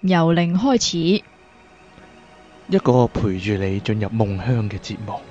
由零開始， 一個陪住你進入夢鄉嘅節目。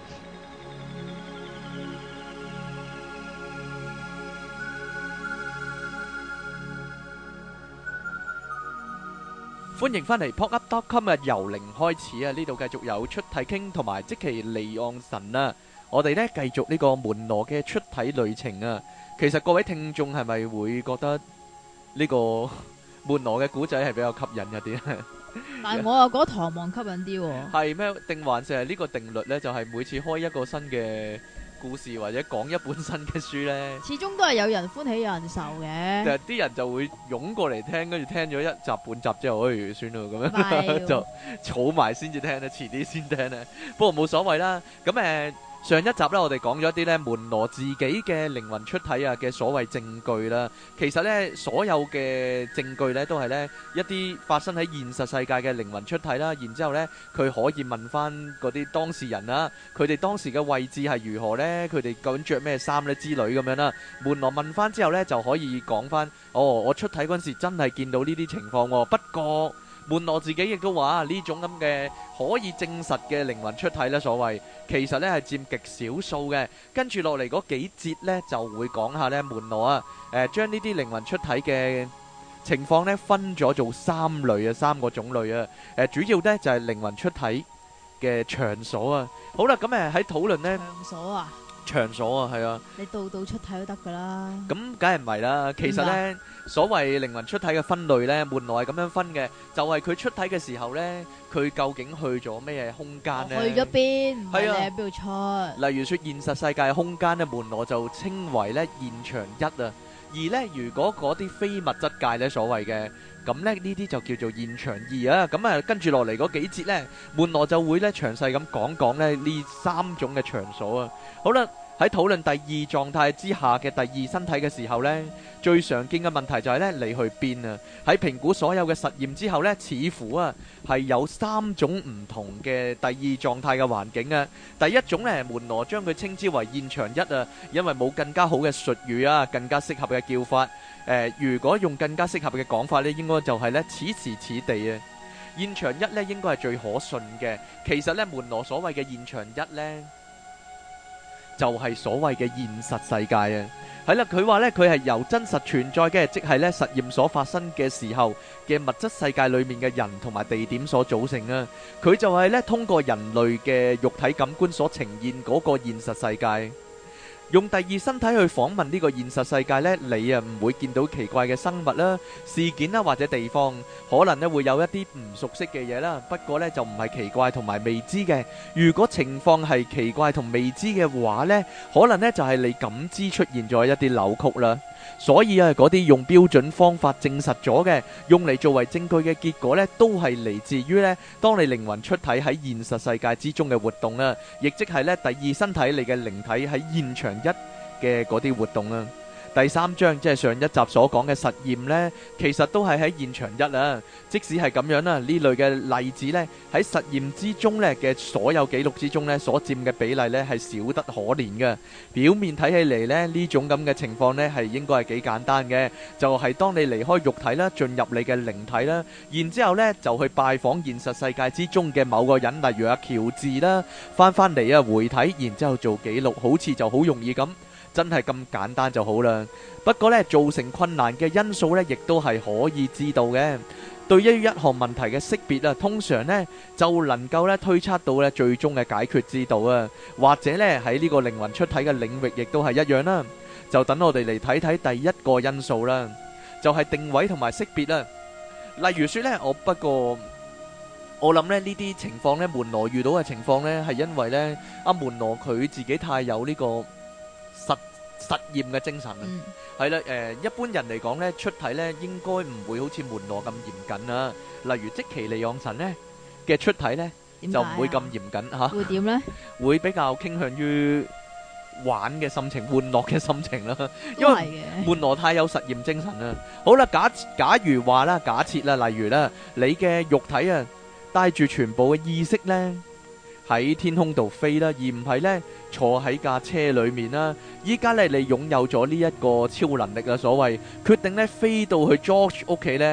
歡迎返嚟 PodUp.com 嘅由零開始啊！呢度繼續有出體傾同埋即其離岸神啊！我哋呢繼續呢個門羅嘅出體旅程啊！其實各位聽眾係咪會覺得呢個門羅嘅古仔係比較吸引一啲？ 但係我又覺得唐望吸引啲喎。 係咩？定還是係呢個定律呢？就係每次開一個新嘅故事或者講一本新嘅書呢， 始終都係有人歡喜有人愁嘅。 啲人就會湧過嚟聽，跟住聽咗一集半集之後，算啦咁拜拜樣就儲埋先至聽咧，遲啲先聽咧。不過冇所謂啦。咁上一集咧，我哋講咗一啲咧門羅自己嘅靈魂出體啊嘅所謂證據啦。其實咧，所有嘅證據咧都係咧一啲發生喺現實世界嘅靈魂出體啦。然之後咧，佢可以問翻嗰啲當事人啦，佢哋當時嘅位置係如何咧？佢哋究竟着咩衫咧之類咁樣啦。門羅問翻之後咧，就可以講翻，我出體嗰陣時真係見到呢啲情況喎。不過門羅自己亦都話呢種咁嘅可以證實嘅靈魂出體咧，所謂其實咧係佔極少數嘅。跟住落嚟嗰幾節咧就會講下咧門羅將呢啲靈魂出體嘅情況咧分咗做三個種類啊。主要咧就係靈魂出體嘅場所啊。好啦，咁喺討論呢場所啊， 場所啊，係啊。 你度度出體都得噶啦。 咁梗係唔係啦？其實呢，所謂靈魂出體嘅分類呢，門羅係咁樣分嘅，就係佢出體嘅時候呢，佢究竟去咗咩空間呢？ 去咗邊？唔係你係啊喺邊度出？ 例如說現實世界嘅空間呢，門羅就稱為呢現場一啊。而呢，如果嗰啲非物質界呢，所謂嘅，咁呢呢啲就叫做現場二啊。咁跟住落嚟嗰幾節呢，門羅就會呢詳細咁講講呢三種嘅場所啊。好啦。喺討論第二狀態之下嘅第二身體嘅時候呢，最常見嘅問題就係呢：你去邊啊？喺評估所有嘅實驗之後呢，似乎係有三種唔同嘅第二狀態嘅環境啊。第一種呢，門羅將佢稱之為現場一啊，因為冇更加好嘅術語啊，更加適合嘅叫法。如果用更加適合嘅講法呢，應該就係呢：此時此地啊。現場一呢應該係最可信嘅。其實呢，門羅所謂嘅現場一呢，就係所謂嘅現實世界啊，係啦，佢話呢，佢係由真實存在嘅，即係呢實驗所發生嘅時候嘅物質世界裏面嘅人同埋地點所組成啊，佢就係呢通過人類嘅肉體感官所呈現嗰個現實世界。用第二身體去訪問呢個現實世界呢，你唔會見到奇怪嘅生物啦、事件啦或者地方，可能呢會有一啲唔熟悉嘅嘢啦。不過呢就唔係奇怪同埋未知嘅。如果情況係奇怪同未知嘅話呢，可能呢就係你感知出現咗一啲扭曲啦。所以嗰啲用標準方法證實咗嘅，用嚟作為證據嘅結果呢，都係嚟自於呢，當你靈魂出體喺現實世界之中嘅活動啊，亦即係呢第二身體你嘅靈體喺現場一嘅嗰啲活動啊。第三章即係上一集所講嘅實驗呢，其實都係喺現場一啊。即使係咁樣啦，呢類嘅例子呢，喺實驗之中呢嘅所有記錄之中呢，所佔嘅比例呢係少得可憐嘅。表面睇起嚟呢，呢種咁嘅情況呢係應該係幾簡單嘅，就係當你離開肉體啦，進入你嘅靈體啦，然之後呢就去拜訪現實世界之中嘅某個人，例如阿喬治啦，翻嚟回體，然之後做記錄，好似就好容易咁。真係咁簡單就好啦。不過呢，造成困難嘅因素呢，亦都係可以知道嘅。對於一項問題嘅識別啊，通常呢就能夠呢推測到呢最終嘅解決之道啊。或者呢喺呢個靈魂出體嘅領域，亦都係一樣啦。就等我哋嚟睇睇第一個因素啦，就係定位同埋識別啊。例如說呢，不過我諗呢呢啲情況呢，門羅遇到嘅情況呢，係因為呢阿門羅佢自己太有呢個實驗嘅精神啊，係啦，一般人嚟講咧，出體咧應該唔會好似門羅咁嚴謹啊。例如即其利昂神咧嘅出體咧，就唔會咁嚴謹嚇。 會點咧？ 會比較傾向於玩嘅心情、玩樂嘅心情啦。因為門羅太有實驗精神啦。好啦，假如話啦，假設啦，例如啦，你嘅肉體啊，帶住全部嘅意識咧，喺天空度飛啦，而唔係呢坐喺架車裏面啦。依家呢，你擁有咗呢一個超能力啊，所謂決定呢飛到去 George 屋企呢，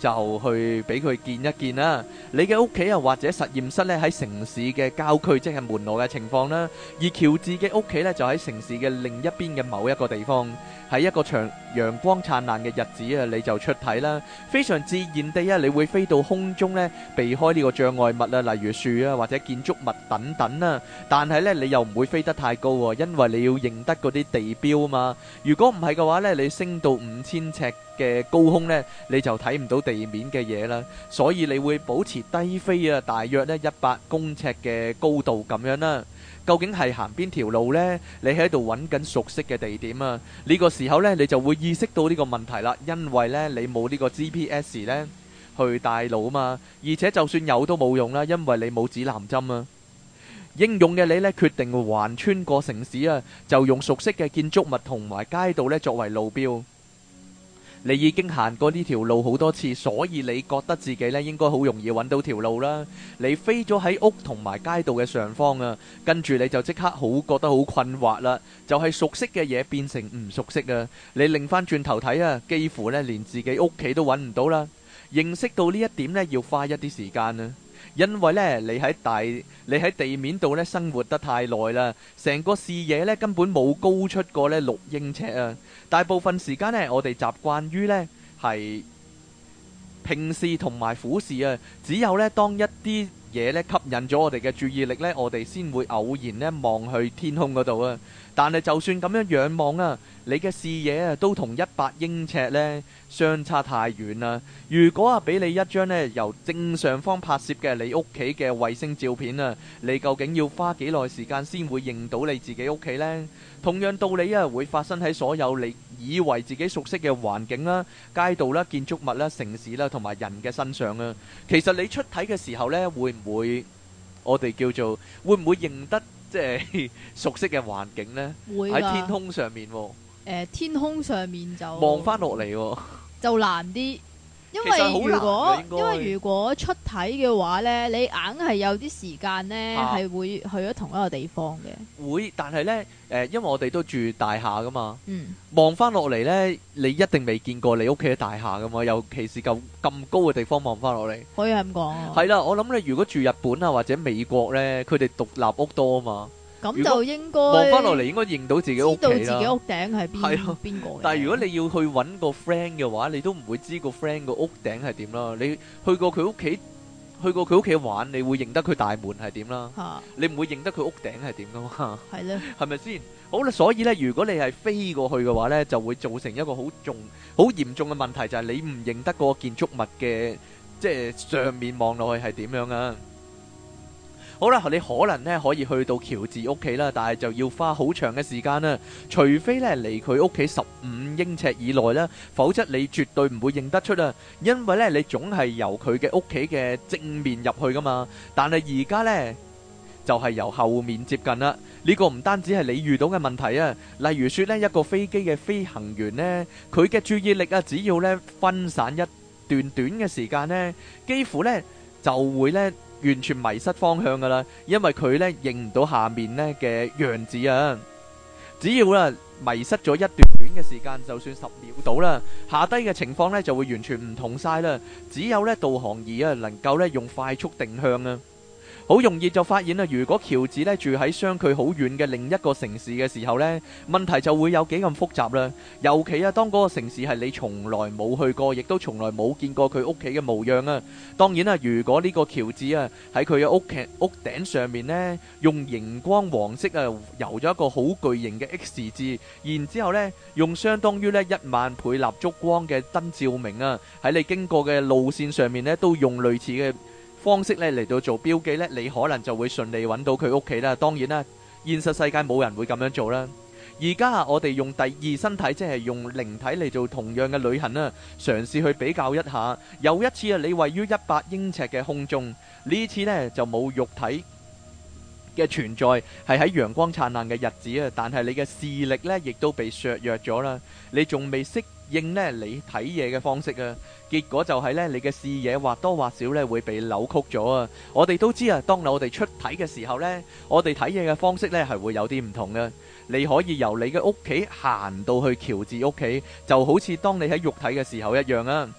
就去俾佢見一見啦。你嘅屋企啊，或者實驗室咧喺城市嘅郊區，即係門羅嘅情況啦。而喬治嘅屋企咧就喺城市嘅另一邊嘅某一個地方。喺一個陽光燦爛嘅日子啊，你就出體啦，非常自然地啊，你會飛到空中咧，避開呢個障礙物啊，例如樹啊或者建築物等等啦。但係咧，你又唔會飛得太高喎，因為你要認得嗰啲地標啊嘛。如果唔係嘅話咧，你升到5000尺嘅高空咧，你就睇唔到地面嘅嘢啦。所以你會保持低飛啊，大約咧100公尺嘅高度咁樣啦。究竟係行邊條路呢？你喺度揾緊熟悉嘅地點啊！呢個時候呢，你就會意識到呢個問題啦，因為呢，你冇呢個 GPS 呢去帶路啊嘛，而且就算有都冇用啦，因為你冇指南針啊。英勇嘅你呢，決定橫穿過城市啊，就用熟悉嘅建築物同埋街道呢作為路標。你已經行過呢條路好多次，所以你覺得自己呢應該好容易揾到條路啦。你飛咗喺屋同埋街道嘅上方啊，跟住你就即刻覺得好困惑啦。就係熟悉嘅嘢變成唔熟悉啊！你擰翻轉頭睇啊，幾乎呢連自己屋企都揾唔到啦。認識到呢一點呢，要花一啲時間啊。因為呢，你喺地面度呢生活得太耐啦，成個視野呢根本冇高出過呢6英尺啊！大部分時間呢，我哋習慣於呢係平視同埋俯視啊，只有呢當一啲嘢呢吸引咗我哋嘅注意力呢，我哋先會偶然呢望去天空嗰度啊。但係就算咁樣仰望啊，你嘅視野啊都同100英尺呢相差太遠啦。如果啊俾你一張呢由正上方拍攝嘅你屋企嘅衛星照片啊，你究竟要花幾耐時間先會認到你自己屋企呢？同樣道理啊，會發生喺所有你以為自己熟悉嘅環境啦、街道啦、建築物啦、城市啦同埋人嘅身上啊。其實你出體嘅時候呢，會唔會我哋叫做會唔會認得即係熟悉嘅環境呢？ 會喺天空上面喎。 天空上面就望翻落嚟喎， 就難啲，因其實好難嘅因為如果出體嘅話呢，你硬係有啲時間呢係會去咗同一個地方嘅。 會，但係呢，因為我哋都住大廈噶嘛， 嗯， 望翻落嚟呢，你一定未見過你屋企嘅大廈噶嘛，尤其是咁高嘅地方望翻落嚟， 可以係咁講啊。 係啦，我諗你如果住日本啊或者美國呢，佢哋獨立屋多啊嘛。 咁就應該望翻落嚟，應該認到自己屋企啦。 知道自己屋頂係邊個。 但係如果你要去揾個 friend 嘅話，你都唔會知個 friend 個屋頂係點啦。你去過佢屋企玩，你會認得佢大門係點啦。你唔會認得佢屋頂係點噶嘛？係咧，係咪先？好啦，所以呢，如果你係飛過去嘅話呢，就會造成一個好嚴重嘅問題，就係你唔認得嗰個建築物嘅即係上面望落去係點樣啊？好啦，你可能咧可以去到喬治屋企啦，但係就要花好長嘅時間啦。除非咧離佢屋企15英尺以內啦，否則你絕對唔會認得出啊。因為咧你總係由佢嘅屋企嘅正面入去噶嘛，但係而家咧就係由後面接近啦。呢個唔單止係你遇到嘅問題啊，例如說咧一個飛機嘅飛行員咧，佢嘅注意力啊，只要咧分散一段短嘅時間咧，幾乎咧就會咧完全迷失方向噶啦，因為佢咧認唔到下面咧嘅樣子啊。只要啦迷失咗一段短嘅時間，就算10秒到啦，下低嘅情況咧就會完全唔同晒啦。只有咧導航儀啊能夠咧用快速定向啊。好容易就發現啦，如果喬治咧住喺相距好遠嘅另一個城市嘅時候呢，問題就會有幾咁複雜啦。尤其啊，當嗰個城市係你從來冇去過，亦都從來冇見過佢屋企嘅模樣啊。當然啦，如果呢個喬治啊喺佢嘅屋頂上面呢，用熒光黃色啊油咗一個好巨型嘅 X 字，然之後呢用相當於呢10000倍蠟燭光嘅燈照明啊，喺你經過嘅路線上面呢，都用類似嘅方式咧嚟到做標記咧，你可能就會順利揾到佢屋企啦。當然啦，現實世界冇人會咁樣做啦。而家我哋用第二身體，即係用靈體嚟做同樣嘅旅行啦，嘗試去比較一下。有一次啊，你位於100英尺嘅空中，呢次呢就冇肉體嘅存在，係喺陽光燦爛嘅日子啊，但係你嘅視力呢亦都被削弱咗啦，你仲未適應呢你睇嘢嘅方式啊，結果就係呢你嘅視野或多或少呢會被扭曲咗啊。我哋都知啊，當我哋出體嘅時候呢，我哋睇嘢嘅方式呢係會有啲唔同嘅。你可以由你嘅屋企行到去喬治屋企，就好似當你喺肉體嘅時候一樣啊。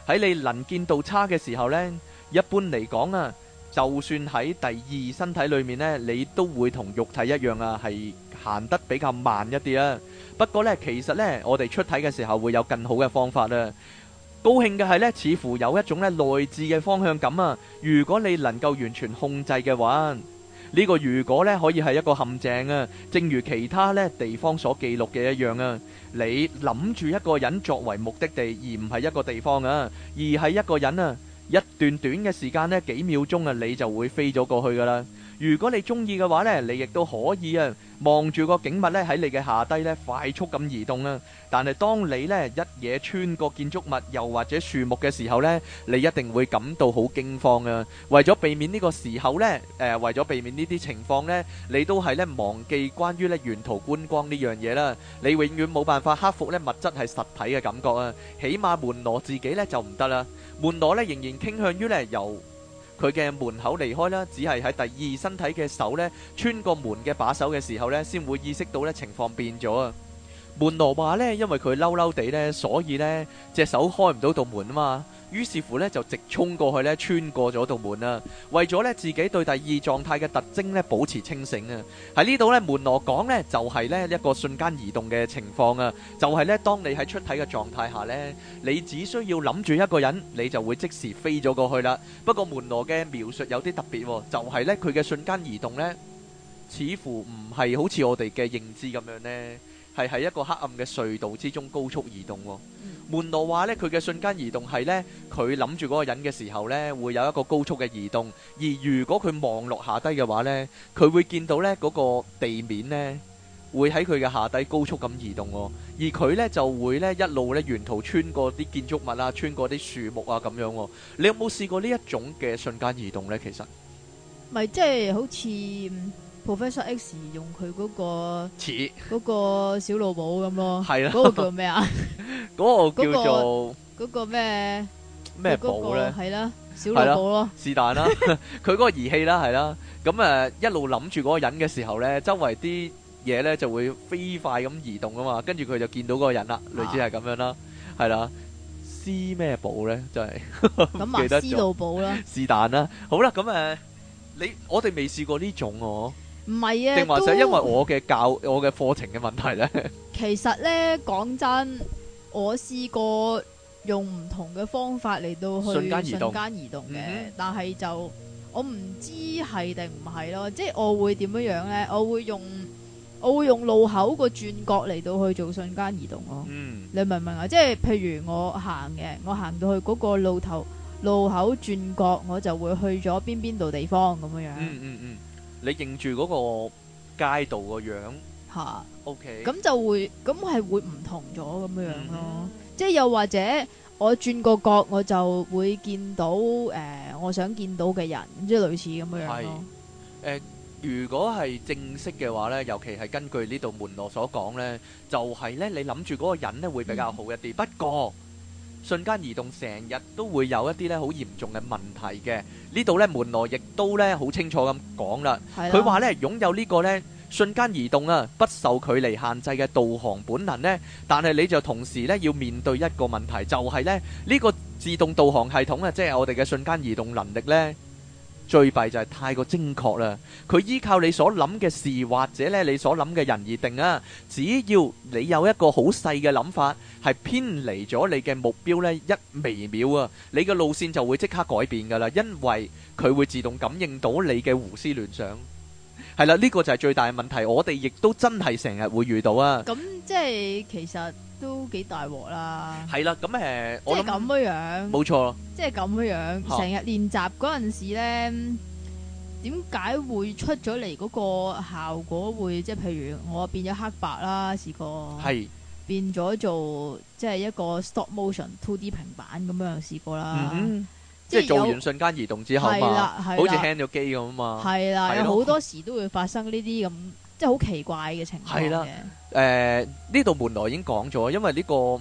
喺你能見度差嘅時候呢，一般嚟講啊，就算喺第二身體裏面呢，你都會同肉體一樣啊，係行得比較慢一啲啊。不過呢，其實呢，我哋出體嘅時候會有更好嘅方法啊。高興嘅係呢，似乎有一種呢內置嘅方向感啊。如果你能夠完全控制嘅話，呢個如果呢可以係一個陷阱啊。正如其他呢地方所記錄嘅一樣啊，你諗住一個人作為目的地，而唔係一個地方啊，而係一個人啊。一段短嘅時間呢，幾秒鐘啊，你就會飛咗過去噶啦。如果你中意嘅話呢，你亦都可以啊，望住個景物呢喺你嘅下低呢快速咁移動啊。但係當你呢一嘢穿過建築物又或者樹木嘅時候呢，你一定會感到好驚慌啊。為咗避免呢個時候呢，為咗避免呢啲情況呢，你都係呢忘記關於呢沿途觀光呢樣嘢啦。你永遠冇辦法克服呢物質係實體嘅感覺啊。起碼門羅自己呢就唔得啦。門羅呢仍然傾向於呢由佢嘅門口離開啦，只係喺第二身體嘅手呢穿過門嘅把手嘅時候呢，先會意識到呢情況變咗啊。門羅話呢，因為佢嬲嬲地呢，所以呢隻手開唔到道門啊嘛，於是乎呢就直衝過去呢，穿過咗道門啊。為咗呢自己對第二狀態嘅特徵呢保持清醒啊。喺呢度呢，門羅講呢就係呢一個瞬間移動嘅情況啊，就係呢當你喺出體嘅狀態下呢，你只需要諗住一個人，你就會即時飛咗過去啦。不過門羅嘅描述有啲特別，就係呢佢嘅瞬間移動呢，似乎唔係好似我哋嘅認知咁樣呢，係喺一個黑暗嘅隧道之中高速移動。門羅話呢，佢嘅瞬間移動係呢，佢諗住嗰個人嘅時候呢，會有一個高速嘅移動。而如果佢望落下低嘅話呢，佢會見到呢嗰個地面呢，會喺佢嘅下低高速咁移動。而佢呢就會呢一路呢沿途穿過啲建築物啊，穿過啲樹木啊咁樣。你有冇試過呢一種嘅瞬間移動呢？其實咪即係好似Professor X 用佢嗰個小老寶咁咯， 係啦， 嗰個叫咩啊？ 嗰個叫做嗰個咩寶咧？ 係啦，小老寶咯， 是但啦，佢嗰個儀器啦，係啦。咁一路諗住嗰個人嘅時候咧，周圍啲嘢咧就會飛快咁移動啊嘛，跟住佢就見到嗰個人啦，類似係咁樣啦，係啦。斯咩寶咧？真係咁啊，斯老寶啦， 是但啦。好啦，咁我哋未試過呢種喎。 唔係啊， 定還是因為我嘅課程嘅問題呢？ 其實呢，講真，我試過用唔同嘅方法嚟到去瞬間移動嘅，但係就我唔知係定唔係咯。即係我會點樣呢？我會用路口個轉角嚟到去做瞬間移動咯。你明唔明啊？即係譬如我行到去嗰個路口轉角，我就會去咗邊度地方咁樣。 你認住嗰個街道個樣吓 ，OK， 咁係會唔同咗咁樣咯。即係又或者我轉個角，我就會見到我想見到嘅人，即係類似咁樣咯。 如果係正式嘅話呢，尤其係根據呢度門羅所講呢，就係呢，你諗住嗰個人呢會比較好一啲。不過瞬間移動成日都會有一啲咧好嚴重嘅問題嘅，呢度咧門羅亦都咧好清楚咁講啦。佢話咧擁有呢個咧瞬間移動啊，不受距離限制嘅導航本能咧，但係你就同時咧要面對一個問題，就係咧呢個自動導航系統啊，即係我哋嘅瞬間移動能力咧。最弊就係太過精確啦，佢依靠你所諗嘅事或者咧你所諗嘅人而定啊。只要你有一個好細嘅諗法，係偏離咗你嘅目標咧一微秒啊，你嘅路線就會即刻改變噶啦，因為佢會自動感應到你嘅胡思亂想。係啦，呢個就係最大嘅問題，我哋亦都真係成日會遇到啊。 咁即係其實都幾大鑊啦。 係啦，咁即係咁樣， 冇錯。即係咁樣，成日練習嗰陣時咧，點解會出咗嚟嗰個效果會即係譬如我變咗黑白啦，試過係變咗做即係一個 stop motion 2D 平板咁樣試過啦。即係做完瞬間移動之後嘛，好似 hand 咗機咁啊嘛。係啦，有好多時都會發生呢啲咁即係好奇怪嘅情況嘅。係啦，呢度門羅已經講咗，因為呢個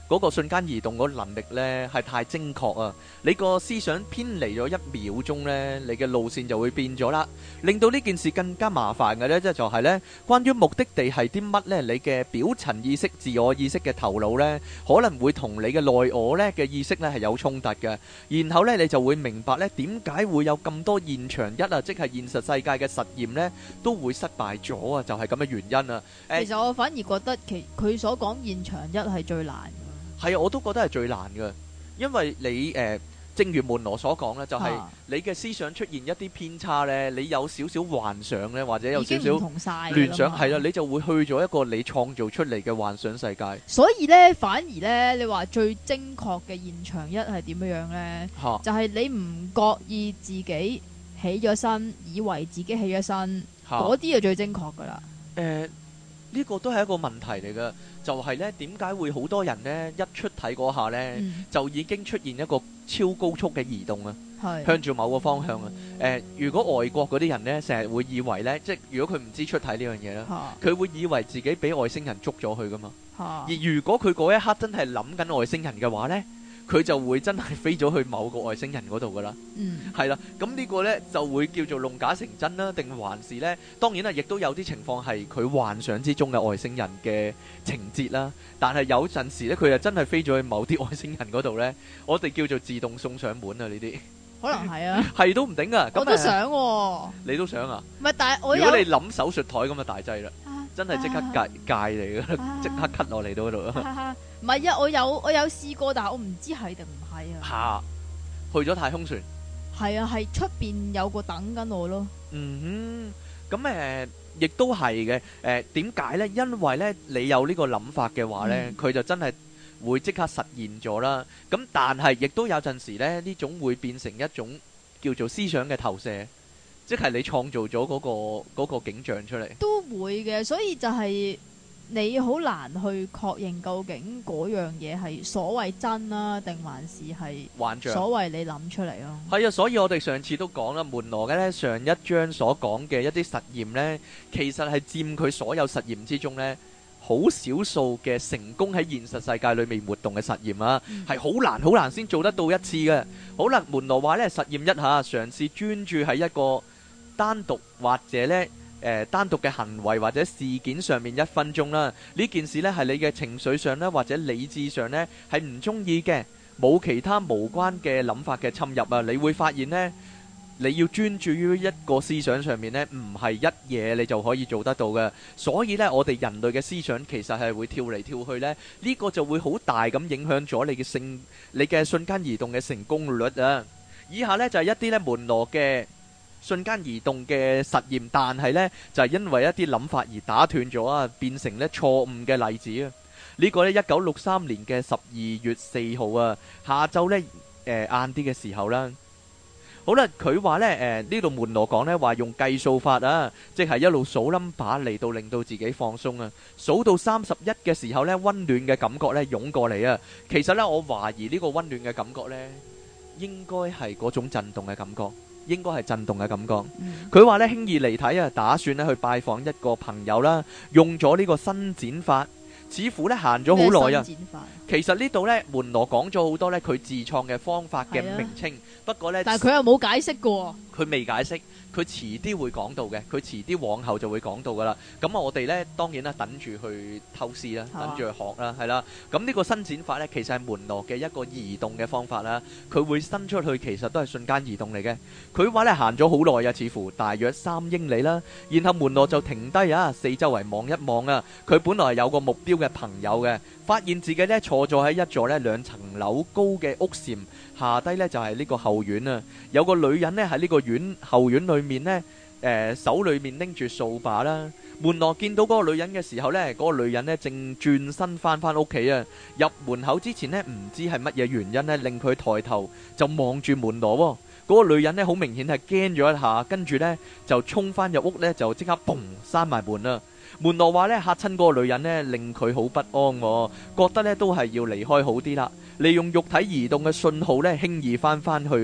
嗰個瞬間移動嗰能力呢係太精確啊！你個思想偏離咗1秒鐘呢，你嘅路線就會變咗啦，令到呢件事更加麻煩嘅呢，即係就係呢，關於目的地係啲乜呢？你嘅表層意識、自我意識嘅頭腦呢，可能會同你嘅內我呢嘅意識呢係有衝突嘅，然後呢，你就會明白呢點解會有咁多現場一啊，即係現實世界嘅實驗呢都會失敗咗啊！就係咁嘅原因啊！ 其實我反而覺得佢所講現場一係最難嘅。 係啊，我都覺得係最難嘅，因為你正如門羅所講咧，就係你嘅思想出現一啲偏差咧，你有少少幻想咧，或者有少少聯想，係啦，你就會去咗一個你創造出嚟嘅幻想世界。 所以咧，反而咧，你話最精確嘅現場一係點樣樣咧？就係你唔覺意自己起咗身，以為自己起咗身，嗰啲就最精確噶啦。 呢個都係一個問題嚟嘅，就係呢點解會好多人呢一出體嗰下呢，就已經出現一個超高速嘅移動啊，向住某個方向啊。如果外國嗰啲人呢，成日會以為呢，即係如果佢唔知出體呢樣嘢啦，佢會以為自己俾外星人捉咗去噶嘛。而如果佢嗰一刻真係諗緊外星人嘅話呢，佢就會真係飛咗去某個外星人嗰度噶啦，係啦，咁呢個呢就會叫做弄假成真啦，定還是呢？當然啦，亦都有啲情況係佢幻想之中嘅外星人嘅情節啦。但係有陣時呢，佢又真係飛咗去某啲外星人嗰度呢，我哋叫做自動送上門啊！呢啲可能係啊，係都唔頂啊！我都想喎，你都想啊？唔係，但係如果你諗手術台咁嘅大劑啦。真係即刻戒嚟噶，即刻 cut 落嚟到嗰度。 唔係啊，我有試過，但係我唔知係定唔係啊。 去咗太空船。 係啊，係出邊有個等緊我咯。 咁亦都係嘅。點解呢？因為呢，你有呢個諗法嘅話呢，佢就真係會即刻實現咗啦。咁但係亦都有陣時呢，呢種會變成一種叫做思想嘅投射。即係你創造咗嗰個景象出嚟，都會嘅，所以就係你好難去確認究竟嗰樣嘢係所謂真啦，定還是係幻象？所謂你諗出嚟咯。係啊，所以我哋上次都講啦，門羅嘅呢上一章所講嘅一啲實驗呢，其實係佔佢所有實驗之中呢好少數嘅成功喺現實世界裏面活動嘅實驗啊，係好難先做得到一次嘅。好啦，門羅話呢，實驗一下，嘗試專注喺一個單獨或者咧單獨嘅行為或者事件上面1分鐘啦，呢件事呢係你嘅情緒上呢或者理智上呢係唔中意嘅，冇其他無關嘅諗法嘅侵入啊，你會發現呢，你要專注於一個思想上面呢，唔係一嘢你就可以做得到嘅。所以呢，我哋人類嘅思想其實係會跳嚟跳去呢，呢個就會好大咁影響咗你嘅瞬間移動嘅成功率啊。以下呢就係一啲呢門羅嘅瞬間移動嘅實驗，但係呢就係因為一啲諗法而打斷咗啊，變成呢錯誤嘅例子啊。呢個呢1963年嘅12月4號啊，下晝呢晏啲嘅時候啦。好啦，佢話呢呢度門羅講呢話用計數法啊，即係一路數 number 嚟到令到自己放鬆啊。數到31嘅時候呢，溫暖嘅感覺呢湧過嚟啊。其實呢，我懷疑呢個溫暖嘅感覺呢，應該係嗰種震動嘅感覺。應該係震動嘅感覺。佢話咧輕易離體啊，打算咧去拜訪一個朋友啦，用咗呢個伸展法，似乎咧行咗好耐啊。其實呢度咧門羅講咗好多咧佢自創嘅方法嘅名稱，不過咧但係佢又冇解釋過，佢未解釋，佢遲啲會講到嘅，佢遲啲往後就會講到噶啦。咁我哋咧當然啦，等住去偷師啦，等住去學啦，係啦。咁呢個伸展法咧，其實係門羅嘅一個移動嘅方法啦。佢會伸出去，其實都係瞬間移動嚟嘅。佢話咧行咗好耐啊，似乎大約3英里啦。然後門羅就停低啊，四周圍望一望啊。佢本來係有個目標嘅朋友嘅，發現自己咧坐咗喺一座咧2層樓高嘅屋檐下低咧，就係呢個後院啊。有個女人咧喺呢個後院裏面咧，手裏面拎住掃把啦。門羅見到嗰個女人嘅時候咧，嗰個女人咧正轉身翻屋企啊。入門口之前咧，唔知係乜嘢原因咧，令佢抬頭就望住門羅喎。嗰個女人咧好明顯係驚咗一下，跟住咧就衝翻入屋咧，就即刻嘣閂埋門啦。門羅話咧嚇親嗰個女人咧，令佢好不安喎，覺得咧都係要離開好啲啦。利用肉體移動嘅信號咧，輕易翻去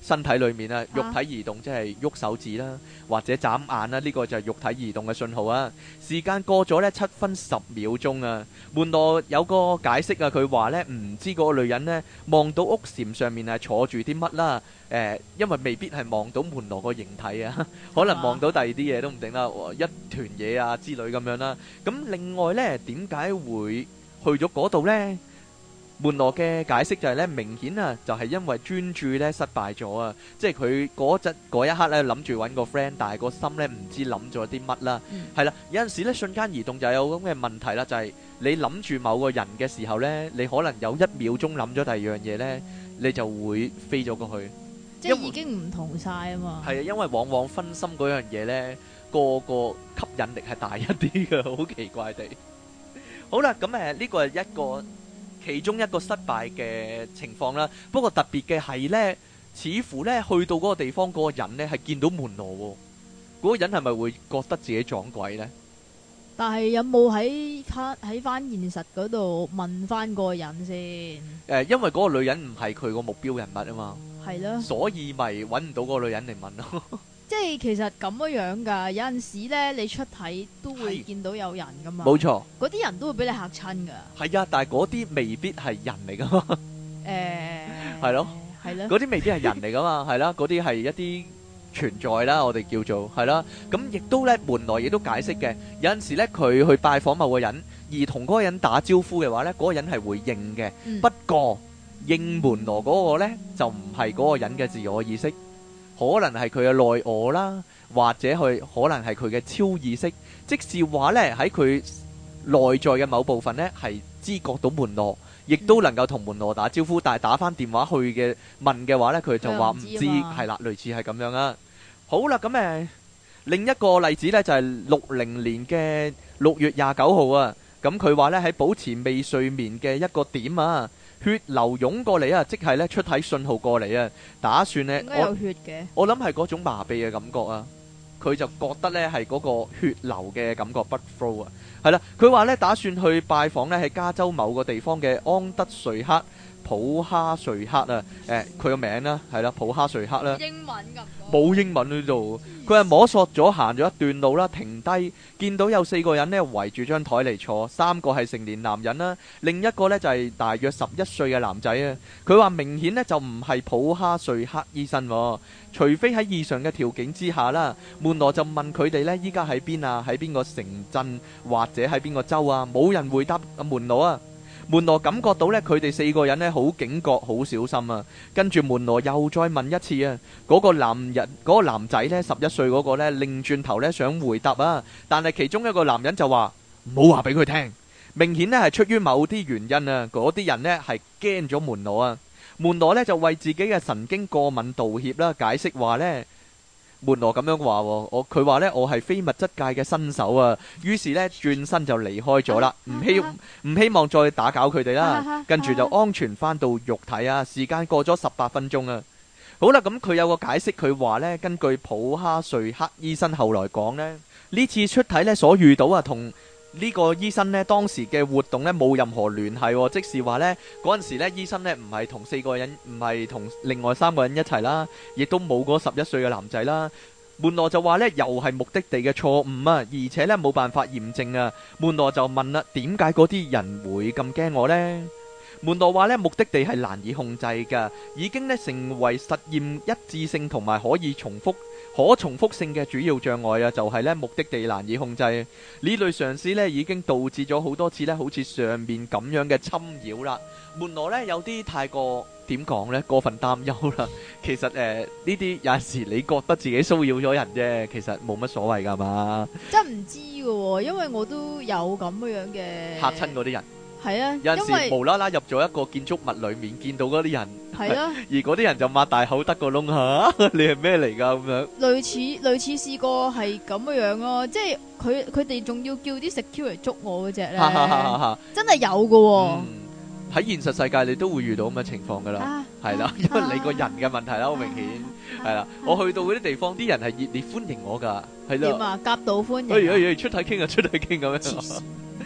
身體裏面啊，肉體移動即係喐手指啦，或者眨眼啦，呢個就係肉體移動嘅信號啊。時間過咗呢7分10秒鐘啊，門羅有個解釋啊，佢話呢唔知嗰個女人呢望到屋檐上面係坐住啲乜啦，因為未必係望到門羅個形體啊，可能望到第二啲嘢都唔定啦，一團嘢啊之類咁樣啦。咁另外呢，點解會去咗嗰度呢？門羅嘅解釋就係咧，明顯啊，就係因為專注咧失敗咗啊，即係佢嗰一刻咧諗住揾個 friend，但係個心咧唔知諗咗啲乜啦，係啦，有陣時咧瞬間移動就有咁嘅問題啦，就係你諗住某個人嘅時候咧，你可能有1秒鐘諗咗第二樣嘢咧，你就會飛咗過去， 即係已經唔同晒啊嘛。係啊，因為往往分心嗰樣嘢咧，個吸引力係大一啲嘅，好奇怪地。好啦，咁呢個係其中一個失敗嘅情況啦，不過特別嘅係呢，似乎呢去到嗰個地方嗰個人呢係見到門羅喎，嗰個人係咪會覺得自己撞鬼呢？ 但係有冇喺翻現實嗰度問翻個人先？ 因為嗰個女人唔係佢個目標人物啊嘛， 係咯， 所以咪揾唔到嗰個女人嚟問咯。 即係其實咁樣噶，有陣時咧你出體都會見到有人噶嘛， 冇錯， 嗰啲人都會俾你嚇親噶。係啊，但係嗰啲未必係人嚟噶嘛。係咯，係咯，嗰啲未必係人嚟噶嘛，係啦，嗰啲係一啲存在啦，我哋叫做係啦。咁亦都咧，門羅亦都解釋嘅，有陣時咧佢去拜訪某個人，而同嗰個人打招呼嘅話咧，嗰個人係會應嘅。不過應門羅嗰個咧就唔係嗰個人嘅自我意識。可能係佢嘅內我啦，或者可能係佢嘅超意識，即是話呢，喺佢內在嘅某部分呢，係知覺到門羅，亦都能夠同門羅打招呼，但係打翻電話去嘅問嘅話呢，佢就話唔知，係啦，類似係咁樣啊。好啦，咁另一個例子呢，就係60年嘅6月29號啊，咁佢話呢，喺保持未睡眠嘅一個點啊，血流湧過嚟啊，即係咧出體信號過嚟啊，打算咧， 有血嘅， 我諗係嗰種麻痹嘅感覺啊，佢就覺得咧係嗰個血流嘅感覺，blood flow 啊，係啦，佢話咧打算去拜訪咧喺加州某個地方嘅安德瑞克普哈瑞克啊，佢個名啦係啦，普哈瑞克啦， 英文咁冇英文呢度，佢係摸索咗行咗一段路啦，停低見到有4個人呢圍住張台嚟坐，3個係成年男人啦，另一個呢就係大約11歲嘅男仔啊。佢話明顯呢就唔係普哈瑞克醫生，除非喺異常嘅條件之下啦。門羅就問佢哋呢依家喺邊啊，喺邊個城鎮或者喺邊個州啊？冇人回答門羅啊。門羅感覺到咧，佢哋4個人咧好警覺、好小心啊。跟住門羅又再問一次啊，嗰個男仔咧11歲嗰個咧，擰轉頭咧想回答啊，但係其中一個男人就話唔好話俾佢聽。明顯咧係出於某啲原因啊，嗰啲人咧係驚咗門羅啊。門羅咧就為自己嘅神經過敏道歉啦，解釋話咧。門羅咁樣話，佢話呢，我係非物質界嘅新手啊，於是呢，轉身就離開咗啦，唔希望再打攪佢哋啦，跟住就安全翻到肉體啊。時間過咗18分鐘啊，好啦，咁佢有個解釋，佢話呢，根據普哈瑞克醫生後來講呢，呢次出體呢所遇到啊同呢個醫生呢當時嘅活動呢冇任何聯繫，即是話呢嗰陣時呢醫生呢唔係同4個人，唔係同另外3個人一齊啦，亦都冇嗰11歲嘅男仔啦。門羅就話呢又係目的地嘅錯誤啊，而且呢冇辦法驗證啊。門羅就問啦，點解嗰啲人會咁驚我呢？門羅話呢，目的地係難以控制㗎，已經呢成為實驗一致性同埋可重複性嘅主要障礙啊，就係呢目的地難以控制。呢類嘗試呢已經導致咗好多次呢好似上面咁樣嘅侵擾啦。門羅呢有啲太過點講呢過分擔憂啦。其實呢啲有陣時你覺得自己騷擾咗人啫，其實冇乜所謂㗎嘛。真唔知㗎喎，因為我都有咁樣嘅嚇親嗰啲人。 係啊， 有陣時無啦啦入咗一個建築物裏面，見到嗰啲人， 係啊， 而嗰啲人就擘大口得個窿嚇，你係咩嚟㗎咁樣？類似試過係咁樣咯，即係佢哋仲要叫啲security嚟捉我嗰隻咧，真係有㗎喎。 喺現實世界你都會遇到咁嘅情況㗎啦，係啦，因為你個人嘅問題啦，好明顯係啦。我去到嗰啲地方，啲人係熱烈歡迎我㗎，係啦。點啊？夾道歡迎。出體傾啊，出體傾咁樣。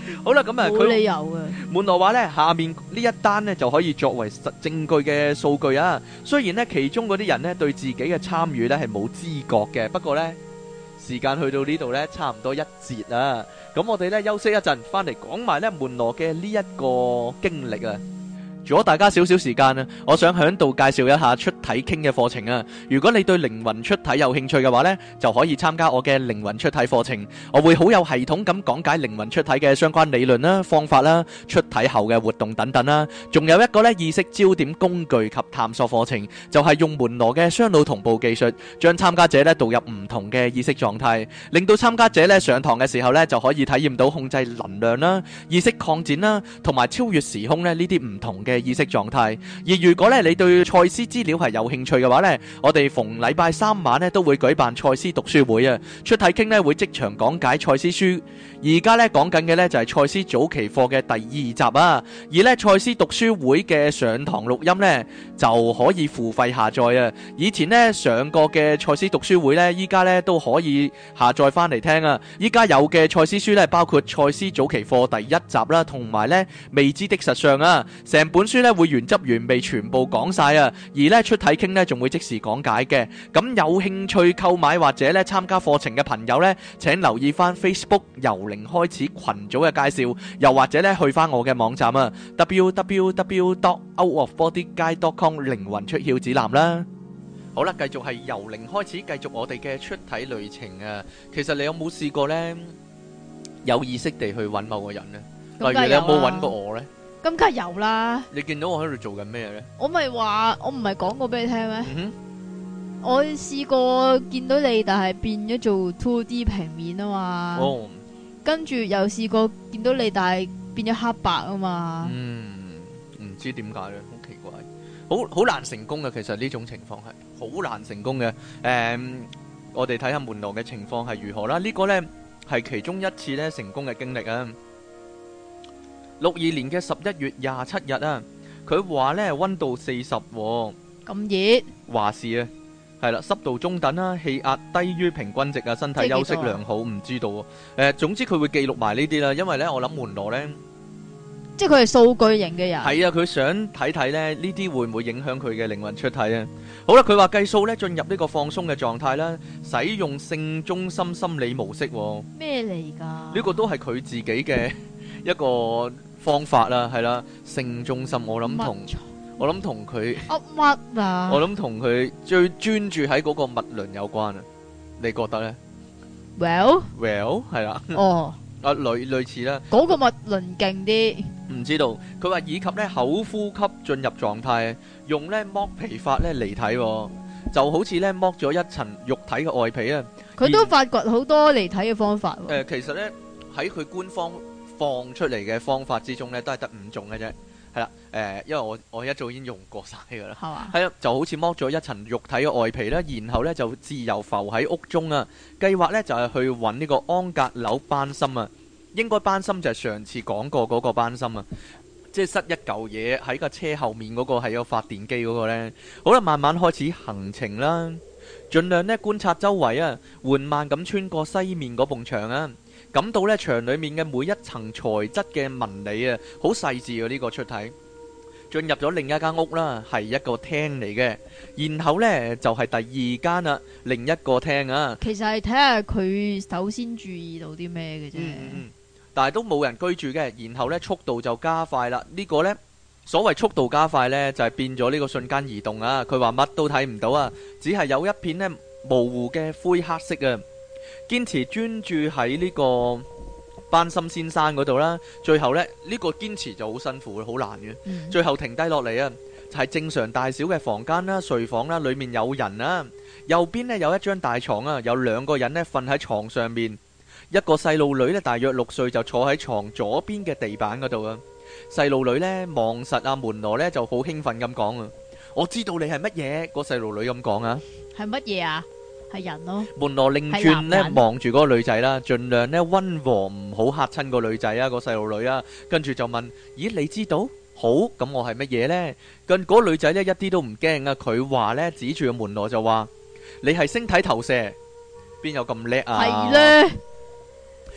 好啦，咁啊， 冇理由嘅。 門羅話呢，下面呢一單呢就可以作為實證據嘅數據啊。雖然呢其中嗰啲人呢對自己嘅參與呢係冇知覺嘅，不過呢時間去到呢度呢差唔多一節啦。咁我哋呢休息一陣，翻嚟講埋呢門羅嘅呢一個經歷啊。如果大家少少時間啊，我想喺度介紹一下出體傾嘅課程啊。如果你對靈魂出體有興趣嘅話呢，就可以參加我嘅靈魂出體課程。我會好有系統咁講解靈魂出體嘅相關理論啦、方法啦、出體後嘅活動等等啦。仲有一個呢意識焦點工具及探索課程，就係用門羅嘅雙腦同步技術，將參加者呢導入唔同嘅意識狀態，令到參加者呢上堂嘅時候呢就可以體驗到控制能量啦、意識擴展啦，同埋超越時空呢啲唔同嘅意識狀態。而如果咧你對賽斯資料係有興趣嘅話呢，我哋逢禮拜三晚呢都會舉辦賽斯讀書會啊。出體傾呢會即場講解賽斯書。而家呢講緊嘅呢就係賽斯早期課嘅第2集啊。而呢賽斯讀書會嘅上堂錄音呢就可以付費下載啊。以前呢上過嘅賽斯讀書會呢，依家呢都可以下載翻嚟聽啊。依家有嘅賽斯書呢，包括賽斯早期課第1集啦，同埋呢未知的實相啊。成本書呢會原汁原味全部講晒啊，而呢出體傾呢仲會即時講解嘅。咁有興趣購買或者呢參加課程嘅朋友呢，請留意翻 Facebook 由零開始群組嘅介紹，又或者呢去翻我嘅網站啊 www.outofbodyguide.com 靈魂出竅指南啦。好啦，繼續係由零開始，繼續我哋嘅出體旅程啊。其實你有冇試過呢有意識地去揾某個人呢？例如你有冇揾過我呢？ 咁梗係有啦！ 你見到我喺度做緊咩咧？ 我咪話，我唔係講過俾你聽咩？我試過見到你，但係變咗做 2D 平面啊嘛。哦。跟住又試過見到你，但係變咗黑白啊嘛。 唔知點解咧，好奇怪，好難成功嘅。其實呢種情況係好難成功嘅。我哋睇下門羅嘅情況係如何啦。呢個咧係其中一次咧成功嘅經歷啊。62年嘅11月27日啊，佢話呢溫度40，咁熱， 華氏啊，係啦，濕度中等啦，氣壓低於平均值啊，身體休息良好，唔知道總之佢會記錄埋呢啲啦，因為呢我諗門羅呢，即係佢係數據型嘅人，係啊，佢想睇睇呢呢啲會唔會影響佢嘅靈魂出體啊。好啦，佢話計數呢進入呢個放鬆嘅狀態啦，使用性中心心理模式，咩嚟㗎？呢個都係佢自己嘅一個方法啦，係啦，性中心，我諗同佢乜啊？我諗同佢最專注喺嗰個脈輪有關啊，你覺得咧 ？Well，係啦，哦，類似啦，嗰個脈輪勁啲，唔知道。佢話以及咧口呼吸進入狀態，用咧剝皮法咧離體，就好似咧剝咗一層肉體嘅外皮啊。佢都發掘好多離體嘅方法。其實咧喺佢官方放出嚟嘅方法之中咧，都係得5種嘅啫，係啦，因為我一早已經用過晒噶啦，係嘛，係啊，就好似剝咗一層肉體嘅外皮啦，然後咧就自由浮喺屋中啊，計劃咧就係去揾呢個安格紐班森啊，應該班森就係上次講過嗰個班森啊，即係塞一嚿嘢喺個車後面嗰個係有發電機嗰個咧，好啦，慢慢開始行程啦，盡量咧觀察周圍啊，緩慢咁穿過西面嗰埲牆啊。感到咧牆裏面嘅每一層材質嘅紋理啊，好細緻啊！呢個出體進入咗另一間屋啦，係一個廳嚟嘅。然後呢，就係第2間啦，另一個廳啊。其實係睇下佢首先注意到啲咩嘅啫。但係都冇人居住嘅。然後呢，速度就加快啦。呢個呢，所謂速度加快呢，就係變咗呢個瞬間移動啊。佢話乜都睇唔到啊，只係有一片呢模糊嘅灰黑色啊。堅持專注喺呢個班森先生嗰度啦，最後呢，呢個堅持就好辛苦，好難嘅。最後停低落嚟啊，就係正常大小嘅房間啦、睡房啦，裏面有人啦。右邊呢有一張大床啊，有2個人呢瞓喺床上面，一個細路女呢大約6歲就坐喺床左邊嘅地板嗰度啊。細路女呢望實阿門羅呢就好興奮咁講啊，我知道你係乜嘢。個細路女咁講啊，係乜嘢啊？係人咯。門羅擰轉咧望住嗰個女仔啦，盡量咧溫和，唔好嚇親個女仔啊，個細路女啊。跟住就問：咦，你知道？好，咁我係乜嘢呢？跟嗰個女仔咧一啲都唔驚啊。佢話咧指住個門羅就話：你係星體投射，邊有咁叻啊？係咧。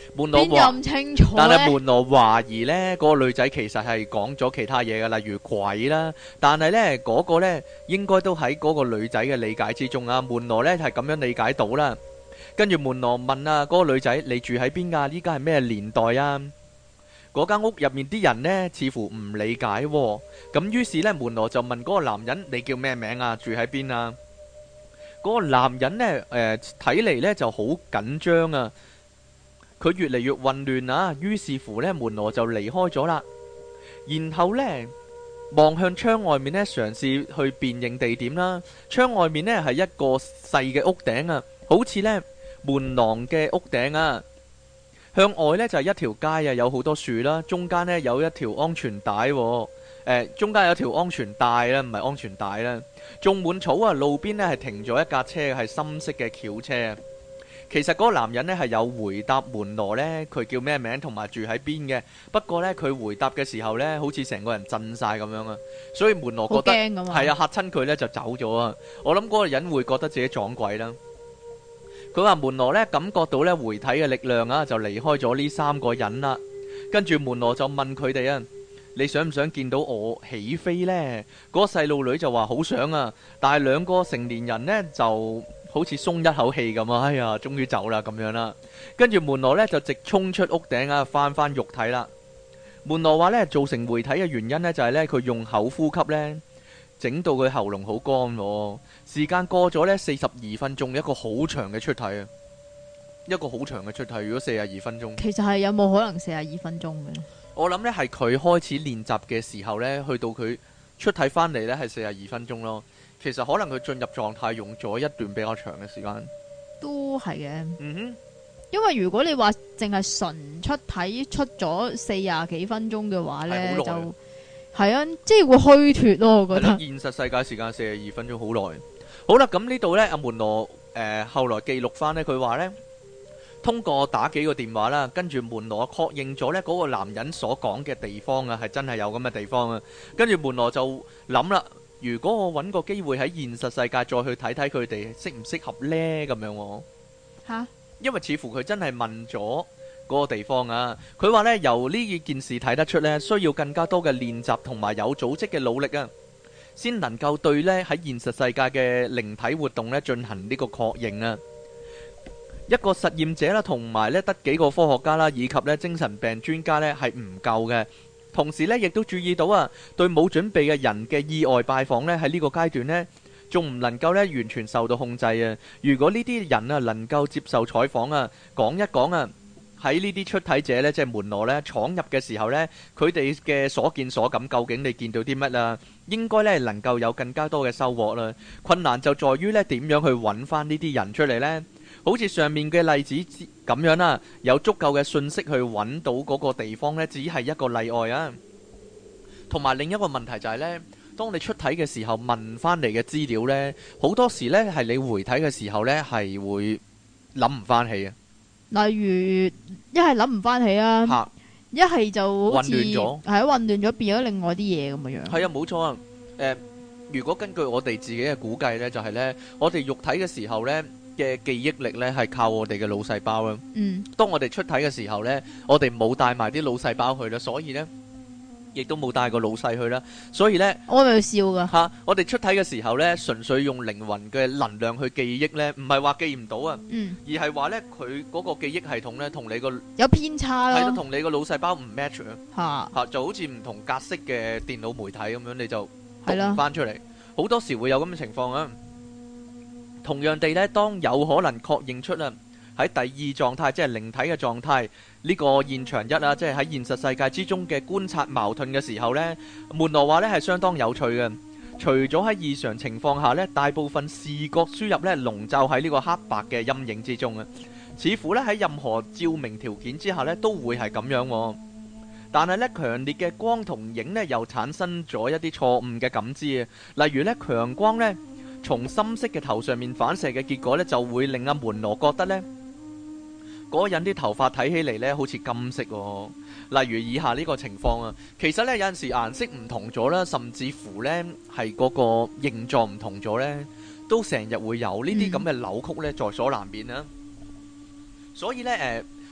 門羅邊咁清楚但係門羅懷疑呢嗰個女仔其實係講咗其他嘢嘅，例如鬼啦。但係呢嗰個呢應該都喺嗰個女仔嘅理解之中啊。門羅呢係咁樣理解到啦。跟住門羅問啊，嗰個女仔，你住喺邊㗎？依家係咩年代啊？嗰間屋入面啲人呢似乎唔理解喎。咁於是呢門羅就問嗰個男人，你叫咩名啊？住喺邊啊？嗰個男人呢睇嚟呢就好緊張啊。佢越嚟越混亂啊，於是乎呢門羅就離開咗啦。然後呢望向窗外面呢，嘗試去辨認地點啦。窗外面呢係一個細嘅屋頂啊，好似呢門廊嘅屋頂啊。向外呢就係一條街啊，有好多樹啦，中間呢有一條安全帶喎。中間有條安全帶啦，唔係安全帶啦，種滿草啊。路邊呢係停咗一架車，係深色嘅轎車。其實嗰個男人呢係有回答門羅呢佢叫咩名同埋住喺邊嘅，不過呢佢回答嘅時候呢好似成個人震晒咁樣啊，所以門羅覺得係啊，嚇親佢呢就走咗啊。我諗嗰個人會覺得自己撞鬼啦。佢話門羅呢感覺到呢回體嘅力量啊，就離開咗呢三個人啦。跟住門羅就問佢哋啊，你想唔想見到我起飛呢？嗰個細路女就話好想啊，但係兩個成年人呢就好似鬆一口氣咁啊！哎呀，終於走啦咁樣啦。跟住門羅呢就直衝出屋頂啊，翻肉體啦。門羅話呢造成回體嘅原因呢就係呢佢用口呼吸呢整到佢喉嚨好乾喎。時間過咗呢42分鐘，一個好長嘅出體啊，一個好長嘅出體。如果42分鐘， 其實係有冇可能42分鐘嘅呢？ 我諗呢係佢開始練習嘅時候呢，去到佢出體翻嚟呢係42分鐘咯。其實可能佢進入狀態用咗一段比較長嘅時間，都係嘅。 嗯哼， 因為如果你話淨係純出體出咗40幾分鐘嘅話呢，就係啊，即係會虛脫咯。我覺得現實世界時間42分鐘好耐。好啦，咁呢度呢，阿門羅後來記錄翻呢，佢話呢，通過打幾個電話啦，跟住門羅確認咗呢嗰個男人所講嘅地方啊，係真係有咁嘅地方啊。跟住門羅就諗啦。如果我揾個機會喺現實世界再去睇睇佢哋適唔適合呢？咁樣喎嚇，因為似乎佢真係問咗嗰個地方啊。佢話呢，由呢件事睇得出呢，需要更加多嘅練習同埋有組織嘅努力啊，先能夠對呢喺現實世界嘅靈體活動呢進行呢個確認啊。一個實驗者啦，同埋呢得幾個科學家啦，以及呢精神病專家呢係唔夠嘅。同時呢，亦都注意到啊，對冇準備嘅人嘅意外拜訪呢，喺呢個階段呢，仲唔能夠呢完全受到控制啊。如果呢啲人啊能夠接受採訪啊，講一講啊，喺呢啲出體者呢，即係門羅呢闖入嘅時候呢，佢哋嘅所見所感，究竟你見到啲乜啊？應該呢能夠有更加多嘅收穫啦。困難就在於呢點樣去揾翻呢啲人出嚟呢？好似上面嘅例子咁樣啦，有足夠嘅信息去揾到嗰個地方呢，只係一個例外啊。同埋另一個問題就係呢，當你出體嘅時候問翻嚟嘅資料呢，好多時呢係你回體嘅時候呢係會諗唔翻起啊。例如一係諗唔翻起啊，一係就好似混亂咗，係混亂咗變咗另外啲嘢咁嘅樣。係啊，冇錯啊。如果根據我哋自己嘅估計呢，就係呢，我哋肉體嘅時候呢嘅記憶力呢係靠我哋嘅腦細胞啦。當我哋出體嘅時候呢，我哋冇帶埋啲腦細胞去啦，所以呢亦都冇帶個腦細去啦。所以呢，我咪笑噶嚇。我哋出體嘅時候呢，純粹用靈魂嘅能量去記憶呢，唔係話記唔到啊，而係話呢，佢嗰個記憶系統呢，同你個有偏差咯，係咯，同你個腦細胞唔 match 啊嚇，就好似唔同格式嘅電腦媒體咁樣，你就讀唔翻出嚟。好多時會有咁嘅情況啊。同樣地呢，當有可能確認出啊喺第二狀態，即係靈體嘅狀態，呢個現場一啊，即係喺現實世界之中嘅觀察矛盾嘅時候呢，門羅話呢係相當有趣嘅。除咗喺異常情況下呢，大部分視覺輸入呢籠罩喺呢個黑白嘅陰影之中啊，似乎呢喺任何照明條件之下呢都會係咁樣。但係呢，強烈嘅光同影呢又產生咗一啲錯誤嘅感知啊，例如呢，強光呢從深色嘅頭上面反射嘅結果呢，就會令阿門羅覺得呢嗰個人啲頭髮睇起嚟呢好似金色喎。例如以下呢個情況啊，其實呢有陣時顏色唔同咗啦，甚至乎呢係嗰個形狀唔同咗呢，都成日會有呢啲咁嘅扭曲呢在所難免啊。所以呢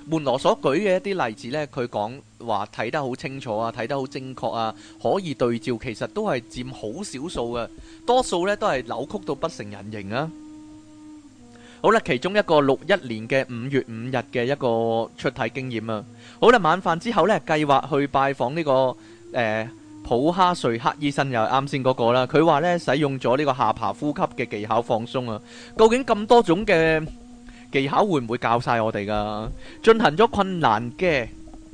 門羅所舉嘅一啲例子呢，佢講話睇得好清楚啊，睇得好精確啊，可以對照，其實都係佔好少數嘅，多數呢都係扭曲到不成人形啊。好啦，其中一個61年嘅5月5日嘅一個出體經驗啊。好啦，晚飯之後呢，計劃去拜訪呢個普哈瑞克醫生，又係啱先嗰個啦。佢話呢，使用咗呢個下巴呼吸嘅技巧放鬆啊。究竟咁多種嘅技巧會唔會教晒我哋噶？進行咗困難嘅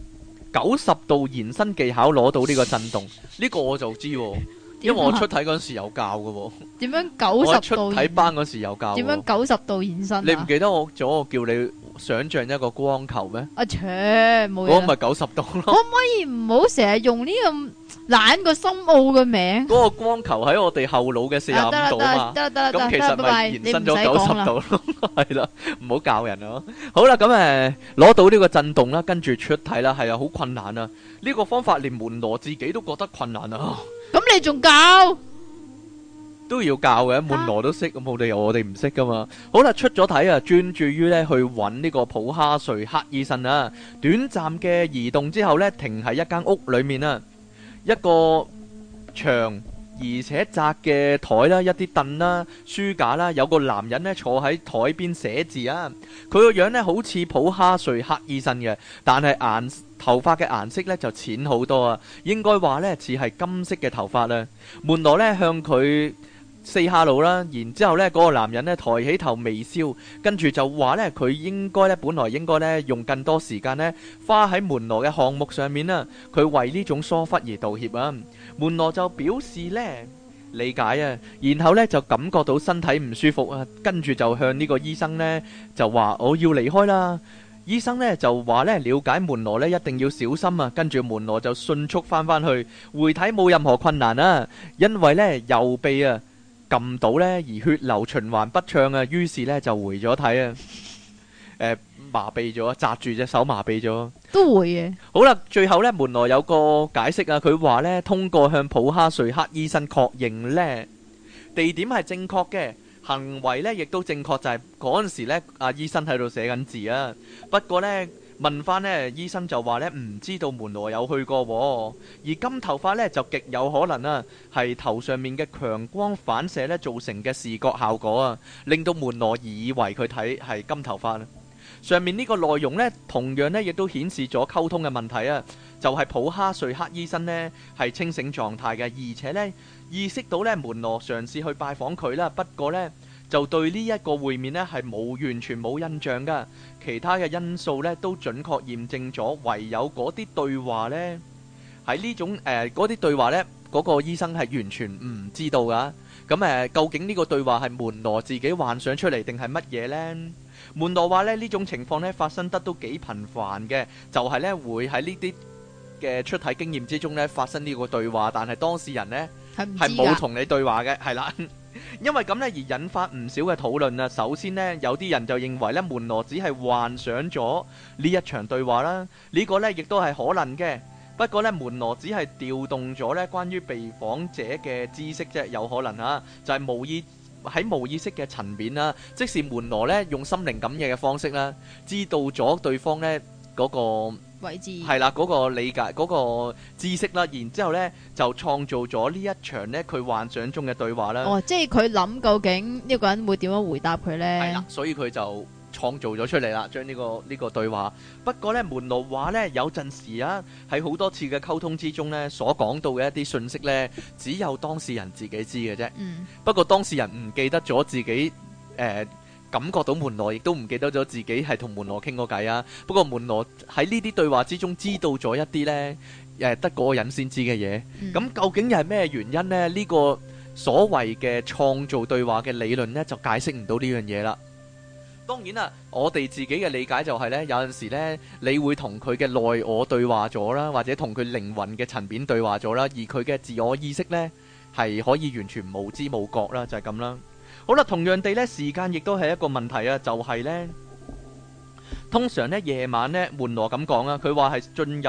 90度延伸技巧，攞到呢個震動，呢個我就知喎。因為我出體嗰時有教嘅喎。點樣90度？我出體班嗰時有教。點樣90度延伸啊？你唔記得我叫你想像一個光球咩？啊切，冇嘢。嗰個咪90度咯。可唔可以唔好成日用呢咁懶個深奧嘅名？嗰個光球喺我哋後腦嘅45度啊嘛。得。咁其實咪延伸咗90度咯。係啦，唔好教人咯。好啦，咁攞到呢個震動啦，跟住出體啦，係啊，好困難啊。呢個方法連門羅自己都覺得困難啊。咁你仲教？都要教嘅，門羅都識，咁冇理由我哋唔識噶嘛。好啦，出咗體啊，專注於呢去揾呢個普哈瑞克醫生啊。短暫嘅移動之後呢，停喺一間屋裏面啊，一個長而且窄嘅台啦，一啲凳啦、書架啦，有個男人呢坐喺台邊寫字啊。佢個樣呢好似普哈瑞克醫生嘅，但係頭髮嘅顏色呢就淺好多啊，應該話呢似係金色嘅頭髮啊。門羅呢向佢say hello啦，然之後呢嗰個男人呢抬起頭微笑，跟住就話呢佢本來應該呢用更多時間呢花喺門羅嘅項目上面啦，佢為呢種疏忽而道歉啊。門羅就表示呢理解啊，然後呢就感覺到身體唔舒服啊，跟住就向呢個醫生呢就話我要離開啦。醫生呢就話呢了解門羅呢一定要小心啊，跟住門羅就迅速翻去回體冇任何困難啊，因為呢右臂啊撳到呢而血流循環不暢啊，於是呢就回咗體啊，麻痹咗，紮住隻手麻痹咗，都會嘅。好啦，最後呢門羅有個解釋啊，佢話呢通過向普哈瑞克醫生確認呢地點係正確嘅。行為呢亦都正確，就係嗰陣時呢阿醫生喺度寫緊字啊。不過呢問翻呢醫生就話呢唔知道門羅有去過，而金頭髮呢就極有可能啊係頭上面嘅強光反射呢造成嘅視覺效果啊，令到門羅以為佢睇係金頭髮啊。上面呢個內容呢同樣呢亦都顯示咗溝通嘅問題啊，就係普哈瑞克醫生呢係清醒狀態嘅，而且呢意識到呢門羅嘗試去拜訪佢啦，不過呢就對呢一個會面呢係完全冇印象噶，其他嘅因素呢都準確驗證咗，唯有嗰啲對話呢喺呢種嗰啲對話呢嗰個醫生係完全唔知道噶。咁究竟呢個對話係門羅自己幻想出嚟定係乜嘢呢？門羅話呢種情況呢發生得都幾頻繁嘅，就係呢會喺呢啲嘅出體經驗之中呢發生呢個對話，但係當事人呢係冇同你對話嘅，係啦。因為咁呢而引發唔少嘅討論啊。首先呢，有啲人就認為呢門羅只係幻想咗呢一場對話啦，呢個呢亦都係可能嘅。不過呢，門羅只係調動咗呢關於被訪者嘅知識啫，有可能啊，就係無意識嘅層面啦。即是門羅呢用心靈感應嘅方式啦，知道咗對方呢嗰個位置係啦，嗰個理解嗰個知識啦，然之後呢就創造咗呢一場呢佢幻想中嘅對話啦。哦，即係佢諗究竟呢個人會點樣回答佢呢？係啦，所以佢就創造咗出嚟啦，將呢個對話。不過呢，門羅話呢，有陣時啊，喺好多次嘅溝通之中呢，所講到嘅一啲信息呢，只有當事人自己知嘅啫。不過當事人唔記得咗自己感覺到門羅，亦都唔記得咗自己係同門羅傾過偈啊。不過門羅喺呢啲對話之中知道咗一啲呢，得嗰個人先知嘅嘢。咁究竟又係咩原因呢？呢個所謂嘅創造對話嘅理論呢，就解釋唔到呢樣嘢啦。當然啦，我哋自己嘅理解就係呢，有陣時呢，你會同佢嘅內我對話咗啦，或者同佢靈魂嘅層面對話咗啦，而佢嘅自我意識呢，係可以完全無知無覺啦，就係咁啦。好啦，同樣地呢，時間亦都係一個問題啊，就係呢，通常呢夜晚呢，門羅咁講啊，佢話係進入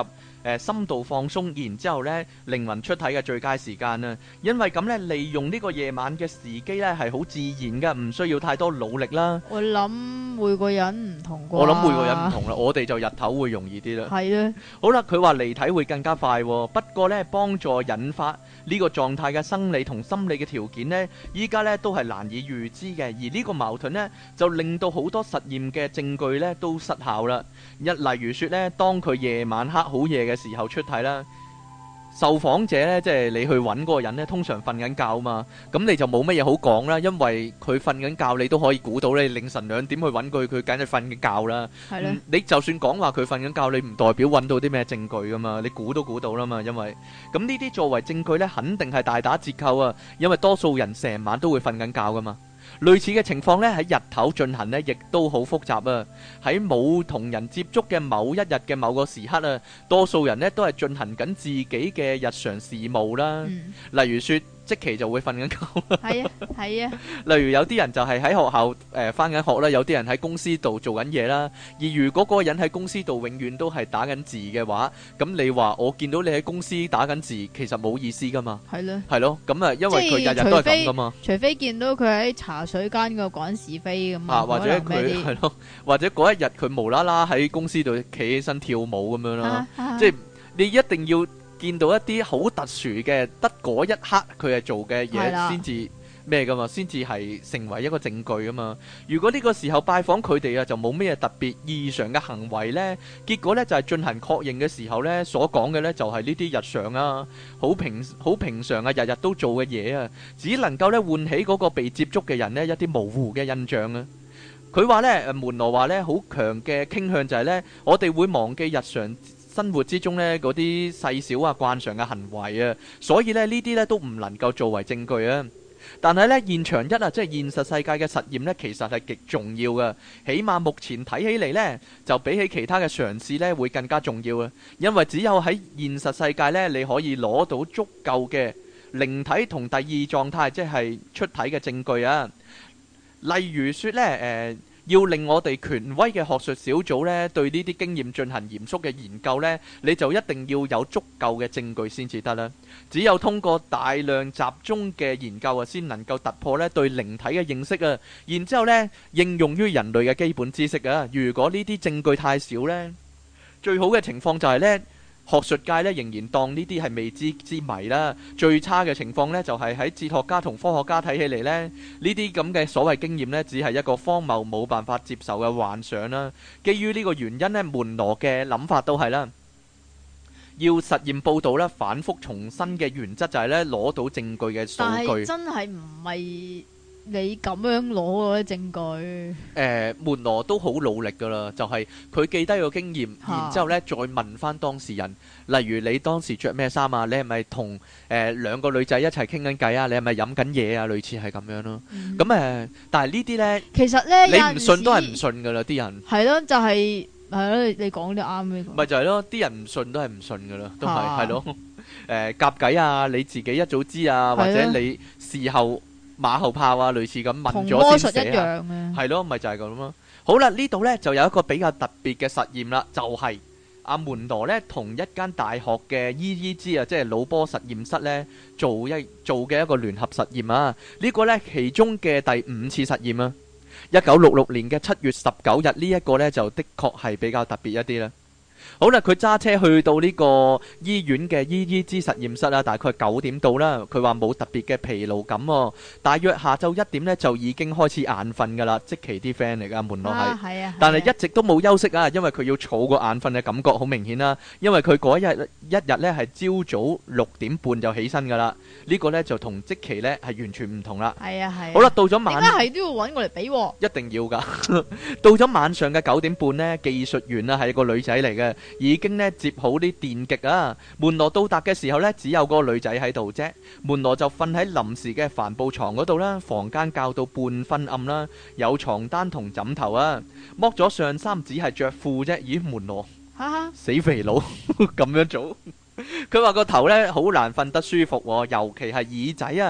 深度放鬆，然之後呢靈魂出體嘅最佳時間啊！因為咁呢，利用呢個夜晚嘅時機呢係好自然噶，唔需要太多努力啦。 我諗每個人唔同啩。 我諗每個人唔同啦，我哋就日頭會容易啲啦。 係啊。好啦，佢話離體會更加快，不過呢幫助引發呢個狀態嘅生理同心理嘅條件呢，依家呢都係難以預知嘅，而呢個矛盾呢，就令到好多實驗嘅證據呢都失效啦。例如說呢，當佢夜晚黑好夜嘅時候出體啦，受訪者呢，即係你去揾嗰個人呢，通常瞓緊覺嘛，咁你就冇乜嘢好講啦，因為佢瞓緊覺，你都可以估到你凌晨2點去揾佢，佢梗係瞓緊覺啦。係啦，你就算講話佢瞓緊覺，你唔代表揾到啲咩證據噶嘛，你估都估到啦嘛，因為咁呢啲作為證據呢，肯定係大打折扣啊，因為多數人成晚都會瞓緊覺噶嘛。類似嘅情況呢，喺日頭進行呢，亦都好複雜啊。喺冇同人接觸嘅某一日嘅某個時刻啊，多數人呢都係進行緊自己嘅日常事務啦。例如說，即期就會瞓緊覺啦。係啊，係啊。例如有啲人就係喺學校返緊學啦，有啲人喺公司度做緊嘢啦。而如果嗰個人喺公司度永遠都係打緊字嘅話，咁你話我見到你喺公司打緊字，其實冇意思噶嘛。係咯。係咯，咁啊，因為佢日日都係咁噶嘛。除非見到佢喺茶水間度講是非咁啊，或者佢係咯，或者嗰一日佢無啦啦喺公司度企起身跳舞咁樣啦。即係你一定要見到一啲好特殊嘅，得嗰一刻佢係做嘅嘢先至咩噶嘛，先至係成為一個證據噶嘛。如果呢個時候拜訪佢哋啊，就冇咩特別異常嘅行為呢，結果呢就係進行確認嘅時候呢，所講嘅呢就係呢啲日常啊，好平常啊，日日都做嘅嘢啊，只能夠呢喚起嗰個被接觸嘅人呢一啲模糊嘅印象啊。佢話呢，門羅話呢，好強嘅傾向就係呢，我哋會忘記日常生活之中呢嗰啲細小啊慣常嘅行為啊，所以呢呢啲呢都唔能夠作為證據啊。但係呢現場一啊，即係現實世界嘅實驗呢，其實係極重要嘅。起碼目前睇起嚟呢，就比起其他嘅嘗試呢會更加重要啊。因為只有喺現實世界呢，你可以攞到足夠嘅靈體同第二狀態，即係出體嘅證據啊。例如說呢，要令我哋權威嘅學術小組呢對呢啲經驗進行嚴肅嘅研究呢，你就一定要有足夠嘅證據先至得啦。只有通過大量集中嘅研究啊，先能夠突破呢對靈體嘅認識啊，然之後呢應用於人類嘅基本知識啊。如果呢啲證據太少呢，最好嘅情況就係呢，學術界咧仍然當呢啲係未知之謎啦。最差嘅情況呢，就係喺哲學家同科學家睇起嚟呢，呢啲咁嘅所謂經驗呢，只係一個荒謬冇辦法接受嘅幻想啦。基於呢個原因呢，門羅嘅諗法都係啦，要實驗報導啦，反覆重申嘅原則就係呢，攞到證據嘅數據。但係真係唔係你咁樣攞嗰啲證據。門羅都好努力噶啦，就係佢記低個經驗，然之後呢再問翻當事人，例如你當時着咩衫啊？你係咪同兩個女仔一齊傾緊偈啊？你係咪飲緊嘢啊？類似係咁樣咯。咁但係呢啲呢，其實呢，你唔信都係唔信噶啦，啲人係咯，就係咯，你講啲啱呢個。咪就係咯，啲人唔信都係唔信噶啦，都係咯。夾計啊，你自己一早知啊，或者你事後馬後炮啊，類似咁問咗先寫啊，係咯，咪就係咁咯。好啦，呢度呢就有一個比較特別嘅實驗啦，就係阿門羅呢同一間大學嘅 EEG 啊，即係腦波實驗室呢做嘅一個聯合實驗啊。呢個呢其中嘅第5次實驗啊，1966年嘅7月19日呢一個呢就的確係比較特別一啲啦。好啦，佢揸車去到呢個醫院嘅 EEG 實驗室啦，大概9點到啦。佢話冇特別嘅疲勞感喎，大約下晝1點呢就已經開始眼瞓噶啦，即其啲 friend 嚟噶，門羅係，但係一直都冇休息啊，因為佢要儲個眼瞓嘅感覺，好明顯啦。因為佢嗰一日呢係朝早6點半就起身噶啦，呢個呢就同即其呢係完全唔同啦。係啊係。好啦，到咗晚，點解係都要揾我嚟比？一定要噶。到咗晚上嘅9點半呢，技術員啊係個女仔嚟嘅。已經呢接好啲電極啊！門羅到達嘅時候呢，只有個女仔喺度啫。門羅就瞓喺臨時嘅帆布床嗰度啦。房間較到半昏暗啦，有床單同枕頭啊。剝咗上衫，只係着褲啫。咦，門羅，死肥佬咁樣做？佢話個頭呢好難瞓得舒服喎，尤其係耳仔啊，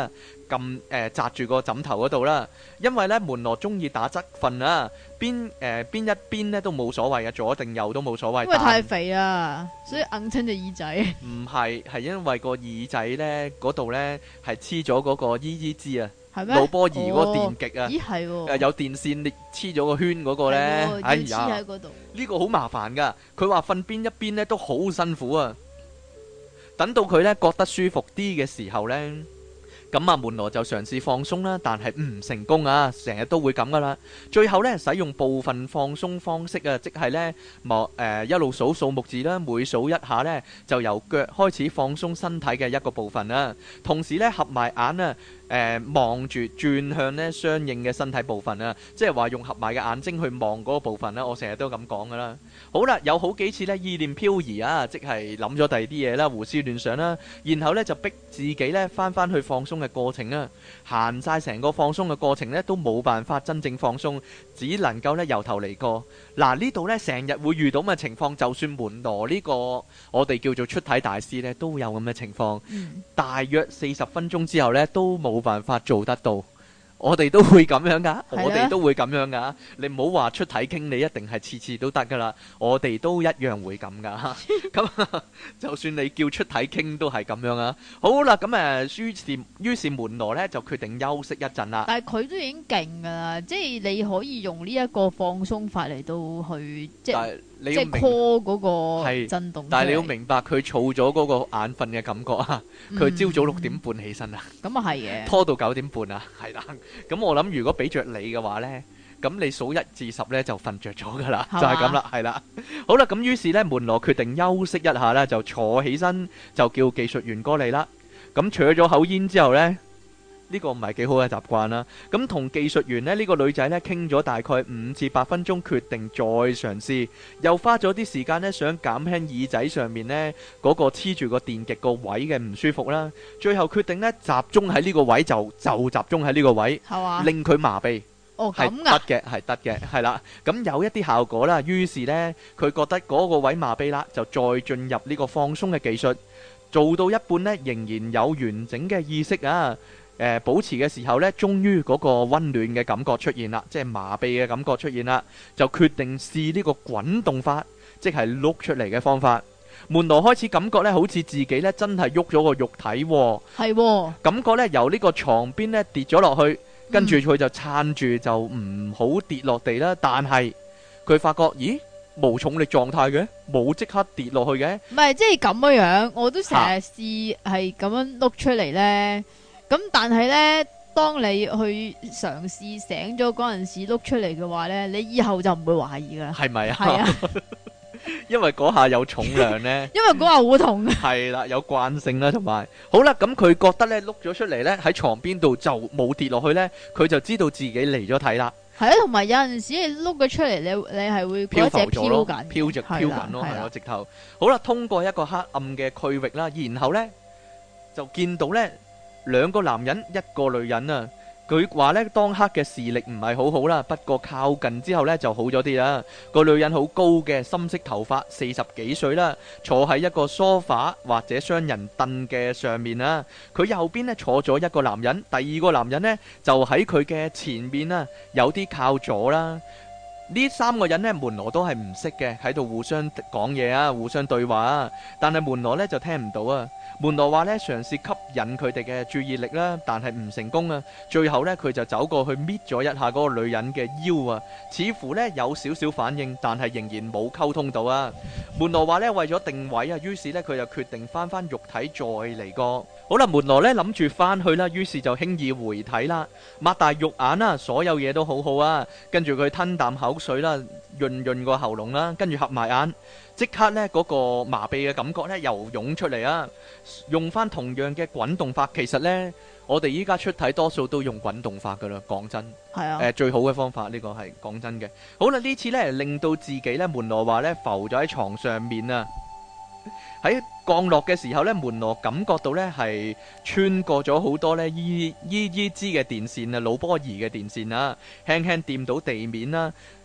擲住個枕頭嗰度啦。因為咧門羅中意打側瞓啊，邊一邊咧都冇所謂啊，左定右都冇所謂。 因為太肥啊，所以硬親隻耳仔。唔係，係因為個耳仔咧嗰度咧係黐咗嗰個依枝啊。 係咩？ 腦波儀嗰個電極啊， 咦係喎， 有電線你黐咗個圈嗰個咧，哎呀， 黐喺嗰度， 呢個好麻煩噶。佢話瞓邊一邊咧都好辛苦啊。等到佢咧覺得舒服啲嘅時候咧，咁啊門羅就嘗試放鬆啦，但係唔成功啊，成日都會咁噶啦。最後咧使用部分放鬆方式啊，即係咧一路數數目字啦，每數一下咧就由腳開始放鬆身體嘅一個部分啦，同時咧合埋眼啊。望住轉向咧相應嘅身體部分啊，即係話用合埋嘅眼睛去望嗰個部分啦。我成日都咁講噶啦。好啦，有好幾次咧意念漂移啊，即係諗咗第二啲嘢啦，胡思亂想啦，然後咧就逼自己咧翻去放鬆嘅過程啊，行晒成個放鬆嘅過程咧都冇辦法真正放鬆，只能夠咧由頭嚟過。嗱，呢度咧成日會遇到咁嘅情況，就算門羅呢個我哋叫做出體大師咧都有咁嘅情況，大約40分鐘之後咧都冇辦法做得到。我哋都會咁樣噶，我哋都會咁樣噶。你唔好話出體傾，你一定係次次都得噶啦。我哋都一樣會咁噶。咁就算你叫出體傾都係咁樣啊。好啦，咁於是門羅呢就決定休息一陣啦。 但係佢都已經勁噶啦，即係你可以用呢一個放鬆法嚟到去即係 call 嗰個震動。 但係你要明白，佢儲咗嗰個眼瞓嘅感覺啊。佢朝早6點半起身啊。 咁啊係嘅。拖到9點半啊，係啦。咁我諗如果俾着你嘅話呢，咁你數1至10呢就瞓着咗噶啦，就係咁啦，係啦。好啦，咁於是呢門羅決定休息一下啦，就坐起身就叫技術員過嚟啦。咁除咗口煙之後呢，呢個唔係幾好嘅習慣啦。咁同技術員呢，呢個女仔呢傾咗大概5至8分鐘，決定再嘗試，又花咗啲時間呢，想減輕耳仔上面呢嗰個黐住個電極個位嘅唔舒服啦。最後決定呢集中喺呢個位，就集中喺呢個位，令佢麻痹。 哦，咁㗎，係得嘅，係啦。咁有一啲效果啦。於是呢，佢覺得嗰個位麻痹啦，就再進入呢個放鬆嘅技術，做到一半呢，仍然有完整嘅意識啊。保持嘅時候呢，終於嗰個溫暖嘅感覺出現啦，即係麻痹嘅感覺出現啦，就決定試呢個滾動法，即係碌出嚟嘅方法。門羅開始感覺呢，好似自己呢真係喐咗個肉體喎，係喎，感覺呢由呢個床邊呢跌咗落去，跟住佢就撐住就唔好跌落地啦。但係佢發覺，咦，無重力狀態嘅，冇即刻跌落去嘅。唔係，即係咁樣，我都成日試係咁樣碌出嚟呢。咁但係呢，當你去嘗試醒咗嗰陣時碌出嚟嘅話呢，你以後就唔會懷疑噶啦。係咪啊？係啊，因為嗰下有重量呢。因為嗰下好痛。係啦，有慣性啦，同埋好啦，咁佢覺得呢碌咗出嚟呢，喺床邊度就冇跌落去呢，佢就知道自己離咗體啦。係啊，同埋有陣時你碌咗出嚟，你係會漂浮咗咯，飄緊咯，係咯，直頭。好啦，通過一個黑暗嘅區域啦，然後呢就見到呢。2個男人1個女人啊，佢話呢當刻嘅視力唔係好好啦，不過靠近之後呢就好咗啲啦。個女人好高嘅，深色頭髮，40幾歲啦，坐喺一個梳化或者雙人凳嘅上面啦。佢右邊呢坐咗一個男人，第2個男人呢就喺佢嘅前面啦，有啲靠左啦。呢3個人呢，門羅都係唔識嘅，喺度互相講嘢啊，互相對話啊，但係門羅呢就聽唔到啊。門羅話呢，嘗試吸引佢哋嘅注意力啦，但係唔成功啊。最後呢，佢就走過去搣咗一下嗰個女人嘅腰啊，似乎呢有少少反應，但係仍然冇溝通到啊。門羅話呢，為咗定位啊，於是呢，佢就決定翻肉體再嚟過。好啦，門羅呢諗住翻去啦，於是就輕易回體啦，擘大肉眼啦，所有嘢都好好啊。跟住佢吞啖口水啦，潤個喉嚨啦，跟住合埋眼，即刻呢嗰個麻痹嘅感覺呢又湧出嚟啊！用翻同樣嘅滾動法，其實呢我哋依家出體多數都用滾動法噶啦，講真係啊，最好嘅方法呢個係講真嘅。好啦，呢次呢令到自己呢，門羅話呢浮咗喺床上面啊。喺降落嘅時候呢，門羅感覺到呢係穿過咗好多呢EEG嘅電線啊，腦波儀嘅電線啊，輕輕掂到地面啦。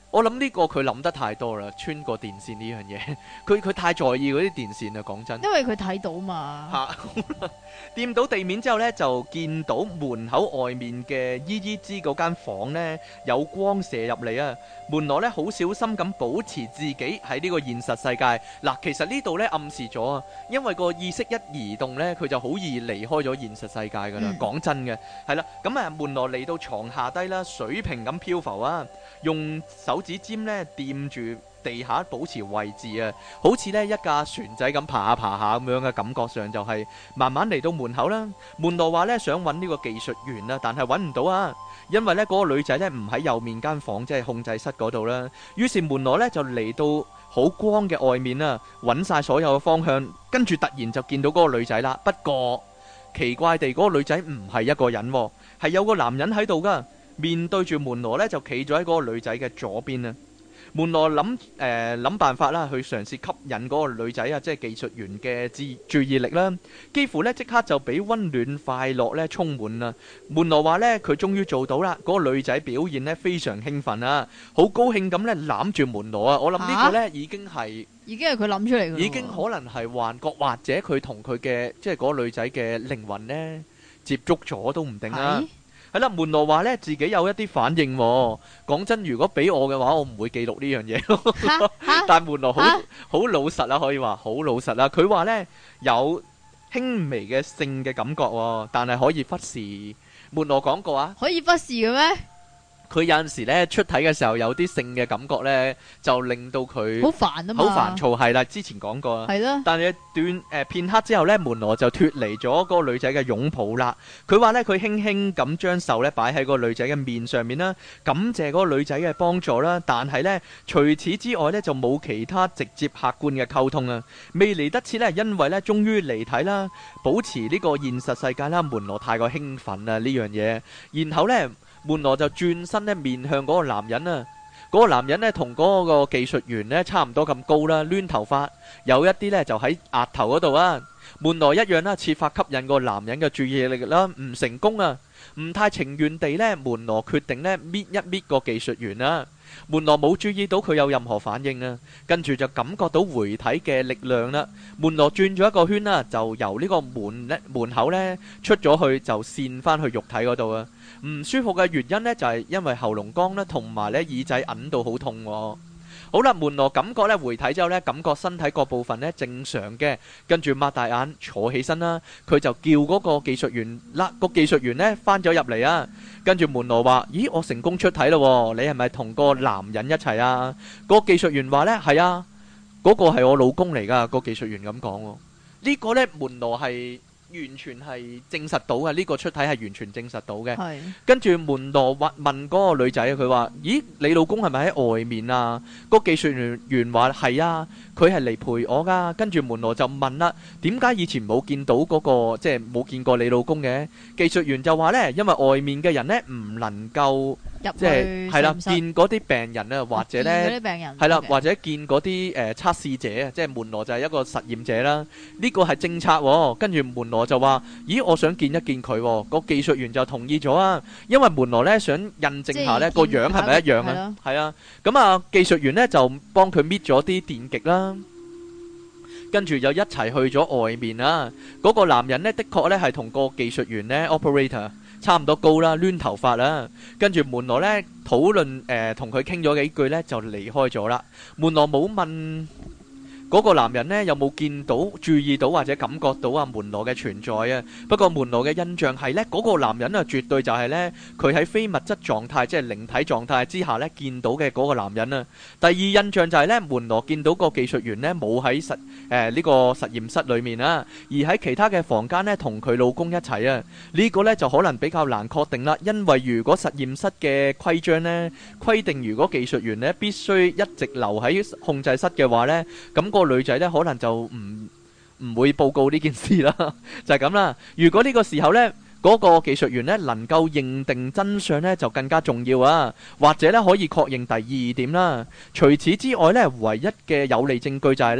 我諗呢個佢諗得太多啦，穿過電線呢樣嘢，佢太在意嗰啲電線啦，講真。 因為佢睇到嘛。 嚇，掂到地面之後呢，就見到門口外面嘅姨姨知嗰間房呢，有光射入嚟啊！門羅呢，好小心咁保持自己喺呢個現實世界。嗱，其實呢度呢，暗示咗啊，因為個意識一移動呢，佢就好易離開咗現實世界噶啦。講真嘅，係啦，咁啊門羅嚟到床下低啦，水平咁漂浮啊，用手指尖呢掂住地下保持位置啊，好似呢一架船仔咁爬下爬下咁樣嘅感覺上就係慢慢嚟到門口啦。門羅話呢，想揾呢個技術員啦，但係揾唔到啊，因為呢嗰個女仔呢唔喺右面間房，即係控制室嗰度啦。於是門羅呢就嚟到好光嘅外面啦，揾晒所有嘅方向，跟住突然就見到嗰個女仔啦。不過奇怪地，嗰個女仔唔係一個人，係有個男人喺度噶，面對住門羅呢就企咗喺嗰個女仔嘅左邊啊。門羅諗辦法啦，去嘗試吸引嗰個女仔啊，即係技術員嘅注意力啦。幾乎呢即刻就俾溫暖快樂呢充滿啦。門羅話呢，佢終於做到啦。嗰個女仔表現呢非常興奮啊，好高興咁呢攬住門羅啊。我諗呢個呢已經係佢諗出嚟嘅， 已經可能係幻覺，或者佢同佢嘅即係嗰個女仔嘅靈魂呢接觸咗都唔定啦。係啦，門羅話咧自己有一啲反應喎。講真，如果俾我嘅話，我唔會記錄呢樣嘢咯。但係門羅好老實啦，可以話好老實啦。佢話咧有輕微嘅性嘅感覺喎，但係可以忽視。門羅講過啊， 可以忽視嘅咩？ 佢有陣時咧出體嘅時候有啲性嘅感覺咧，就令到佢好煩啊嘛， 好煩躁係啦。之前講過啊， 係啦。但係片刻之後咧，門羅就脫離咗嗰個女仔嘅擁抱啦。佢話咧佢輕輕咁將手咧擺喺個女仔嘅面上面啦，感謝嗰個女仔嘅幫助啦。但係咧除此之外咧就冇其他直接客觀嘅溝通啊。未嚟得切咧，因為咧終於離體啦，保持呢個現實世界啦。門羅太過興奮啊呢樣嘢，然後咧。門羅就轉身咧面向嗰個男人啊，嗰個男人咧同嗰個技術員咧差唔多咁高啦，攣頭髮，有一啲咧就喺額頭嗰度啊。門羅一樣啦，設法吸引個男人嘅注意力啦，唔成功啊，唔太情願地咧，門羅決定咧搣一搣個技術員啊。門羅冇注意到佢有任何反應啊，跟住就感覺到回體嘅力量啦。門羅轉咗一個圈啦，就由呢個門口咧出咗去，就跣翻去肉體嗰度啊。唔舒服嘅原因呢，就係因為喉嚨乾啦，同埋咧耳仔揞到好痛喎。好啦，門羅感覺咧回體之後咧，感覺身體各部分咧正常嘅，跟住擘大眼坐起身啦。佢就叫嗰個技術員啦，個技術員咧翻咗入嚟啊。跟住門羅話：咦，我成功出體咯，你係咪同個男人一齊啊？個技術員話咧：係啊，嗰個係我老公嚟噶。個技術員咁講，呢個咧門羅係完全係證實到嘅，呢個出體係完全證實到嘅。係。跟住門羅問嗰個女仔，佢話：咦，你老公係咪喺外面啊？個技術員話：係啊，佢係嚟陪我噶。跟住門羅就問啦：點解以前冇見到嗰個，即係冇見過你老公嘅？技術員就話呢，因為外面嘅人呢唔能夠即係係啦，見嗰啲病人啊，或者呢係啦，或者見嗰啲測試者啊，即係門羅就係一個實驗者啦。呢個係政策喎。跟住門羅就話：咦，我想見一見佢喎。個技術員就同意咗啊，因為門羅呢想印證下呢個樣係咪一樣啊？係啊，咁啊技術員呢就幫佢搣咗啲電極啦，跟住就一齊去咗外面啦。嗰個男人呢，的確呢係同個技術員呢 operator 差唔多高啦，攣頭髮啦。跟住門羅呢討論同佢傾咗幾句呢，就離開咗啦。門羅冇問嗰個男人呢有冇見到、注意到或者感覺到啊門羅嘅存在啊？不過門羅嘅印象係呢，嗰個男人啊絕對就係呢，佢喺非物質狀態，即係靈體狀態之下呢見到嘅嗰個男人啊。第二印象就係呢，門羅見到個技術員呢冇喺呢個實驗室裏面啊，而喺其他嘅房間呢同佢老公一齊啊。呢個呢就可能比較難確定啦，因為如果實驗室嘅規章呢規定，如果技術員呢必須一直留喺控制室嘅話呢，咁個女仔呢可能就唔會報告呢件事啦，就係咁啦。如果呢個時候呢，嗰個技術員呢能夠認定真相呢，就更加重要啊，或者呢可以確認第二點啦。除此之外呢，唯一嘅有利證據就係呢，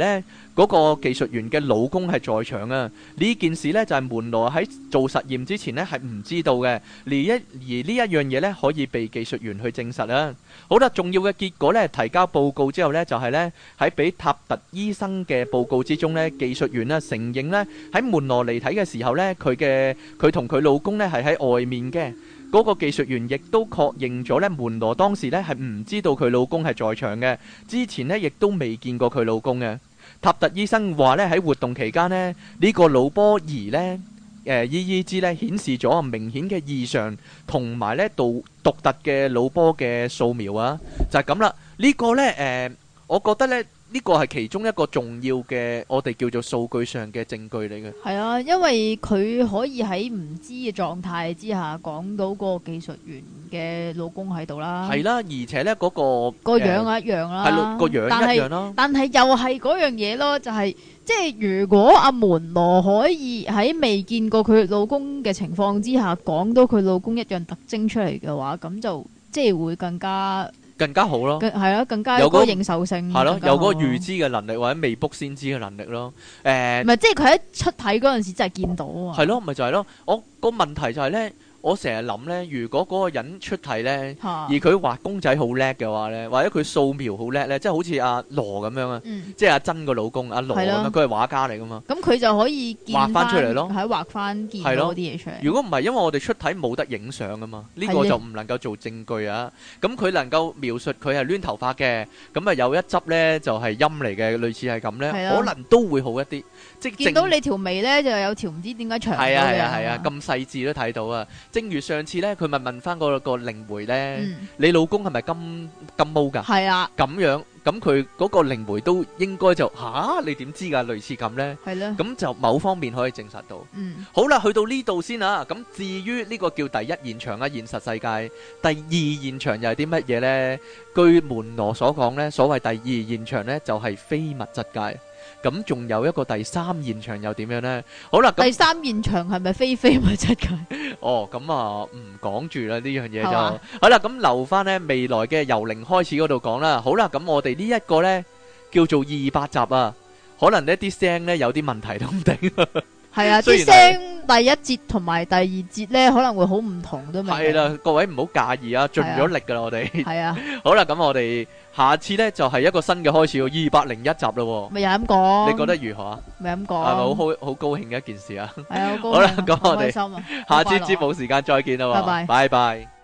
嗰個技術員嘅老公係在場啊！呢件事呢，就係門羅喺做實驗之前呢係唔知道嘅，而呢一樣嘢呢，可以被技術員去證實啊！好啦，重要嘅結果呢，提交報告之後呢，就係呢喺俾塔特醫生嘅報告之中呢，技術員承認呢喺門羅離體嘅時候呢，佢同佢老公呢係喺外面嘅。嗰個技術員亦都確認咗呢，門羅當時呢係唔知道佢老公係在場嘅，之前呢亦都未見過佢老公嘅。塔特醫生話呢，喺活動期間呢，呢個腦波儀呢，EEG 呢顯示咗明顯嘅異常，同埋呢獨特嘅腦波嘅掃描啊，就係咁啦。呢個呢，我覺得呢。呢個係其中一個重要嘅，我哋叫做數據上嘅證據嚟嘅。 係啊，因為佢可以喺唔知嘅狀態之下講到個技術員嘅老公喺度啦。 係啦，而且呢嗰個樣一樣啦。 係咯，個樣一樣啦。 但係又係嗰樣嘢咯，就係即係如果阿門羅可以喺未見過佢老公嘅情況之下講到佢老公一樣特徵出嚟嘅話，咁就即係會更加好咯，係咯，更加有嗰個認受性， 係咯，有嗰個預知嘅能力或者未卜先知嘅能力咯。 唔係，即係佢喺出體嗰陣時真係見到啊。 係咯，咪就係咯。我個問題就係咧，我成日諗咧，如果嗰個人出體咧，而佢畫公仔好叻嘅話咧，或者佢掃描好叻咧，即係好似阿羅咁樣啊，即係阿珍個老公阿羅咁樣，佢係畫家嚟噶嘛。咁佢就可以畫翻出嚟咯，喺畫翻見到啲嘢出嚟。如果唔係，因為我哋出體冇得影相噶嘛，呢個就唔能夠做證據啊。咁佢能夠描述佢係攣頭髮嘅，咁啊有一執咧就係陰嚟嘅，類似係咁咧，可能都會好一啲。即係見到你條眉咧就有條唔知點解長嘅。係啊，咁細緻都睇到啊！正如上次咧，佢咪問翻個靈媒咧，你老公係咪金毛㗎？係啊，咁樣咁佢嗰個靈媒都應該就你點知㗎？類似咁咧，係咧，咁就某方面可以證實到。好啦，去到呢度先啊。咁至於呢個叫第一現場啊，現實世界第二現場又係啲乜嘢咧？據門羅所講咧，所謂第二現場咧就係非物質界。咁仲有一個第三現場又點樣呢？好啦，第三現場係咪非物質界？哦，咁啊唔講住啦，呢樣嘢就好啦。咁留翻呢未來嘅由零開始嗰度講啦。好啦，咁我哋呢一個呢叫做200集啊，可能呢啲聲呢有啲問題都唔定。係啊，啲聲第一節同埋第二節咧可能會好唔同都未。係啦，各位唔好介意啊，盡咗力噶啦，我哋。係啊。好啦，咁我哋下次咧就係一個新嘅開始，201集咯。咪又咁講？你覺得如何啊？咪咁講？係咪好高興嘅一件事啊？係啊，好高興。好啦，咁我哋下次節目時間再見啦。拜拜。拜拜。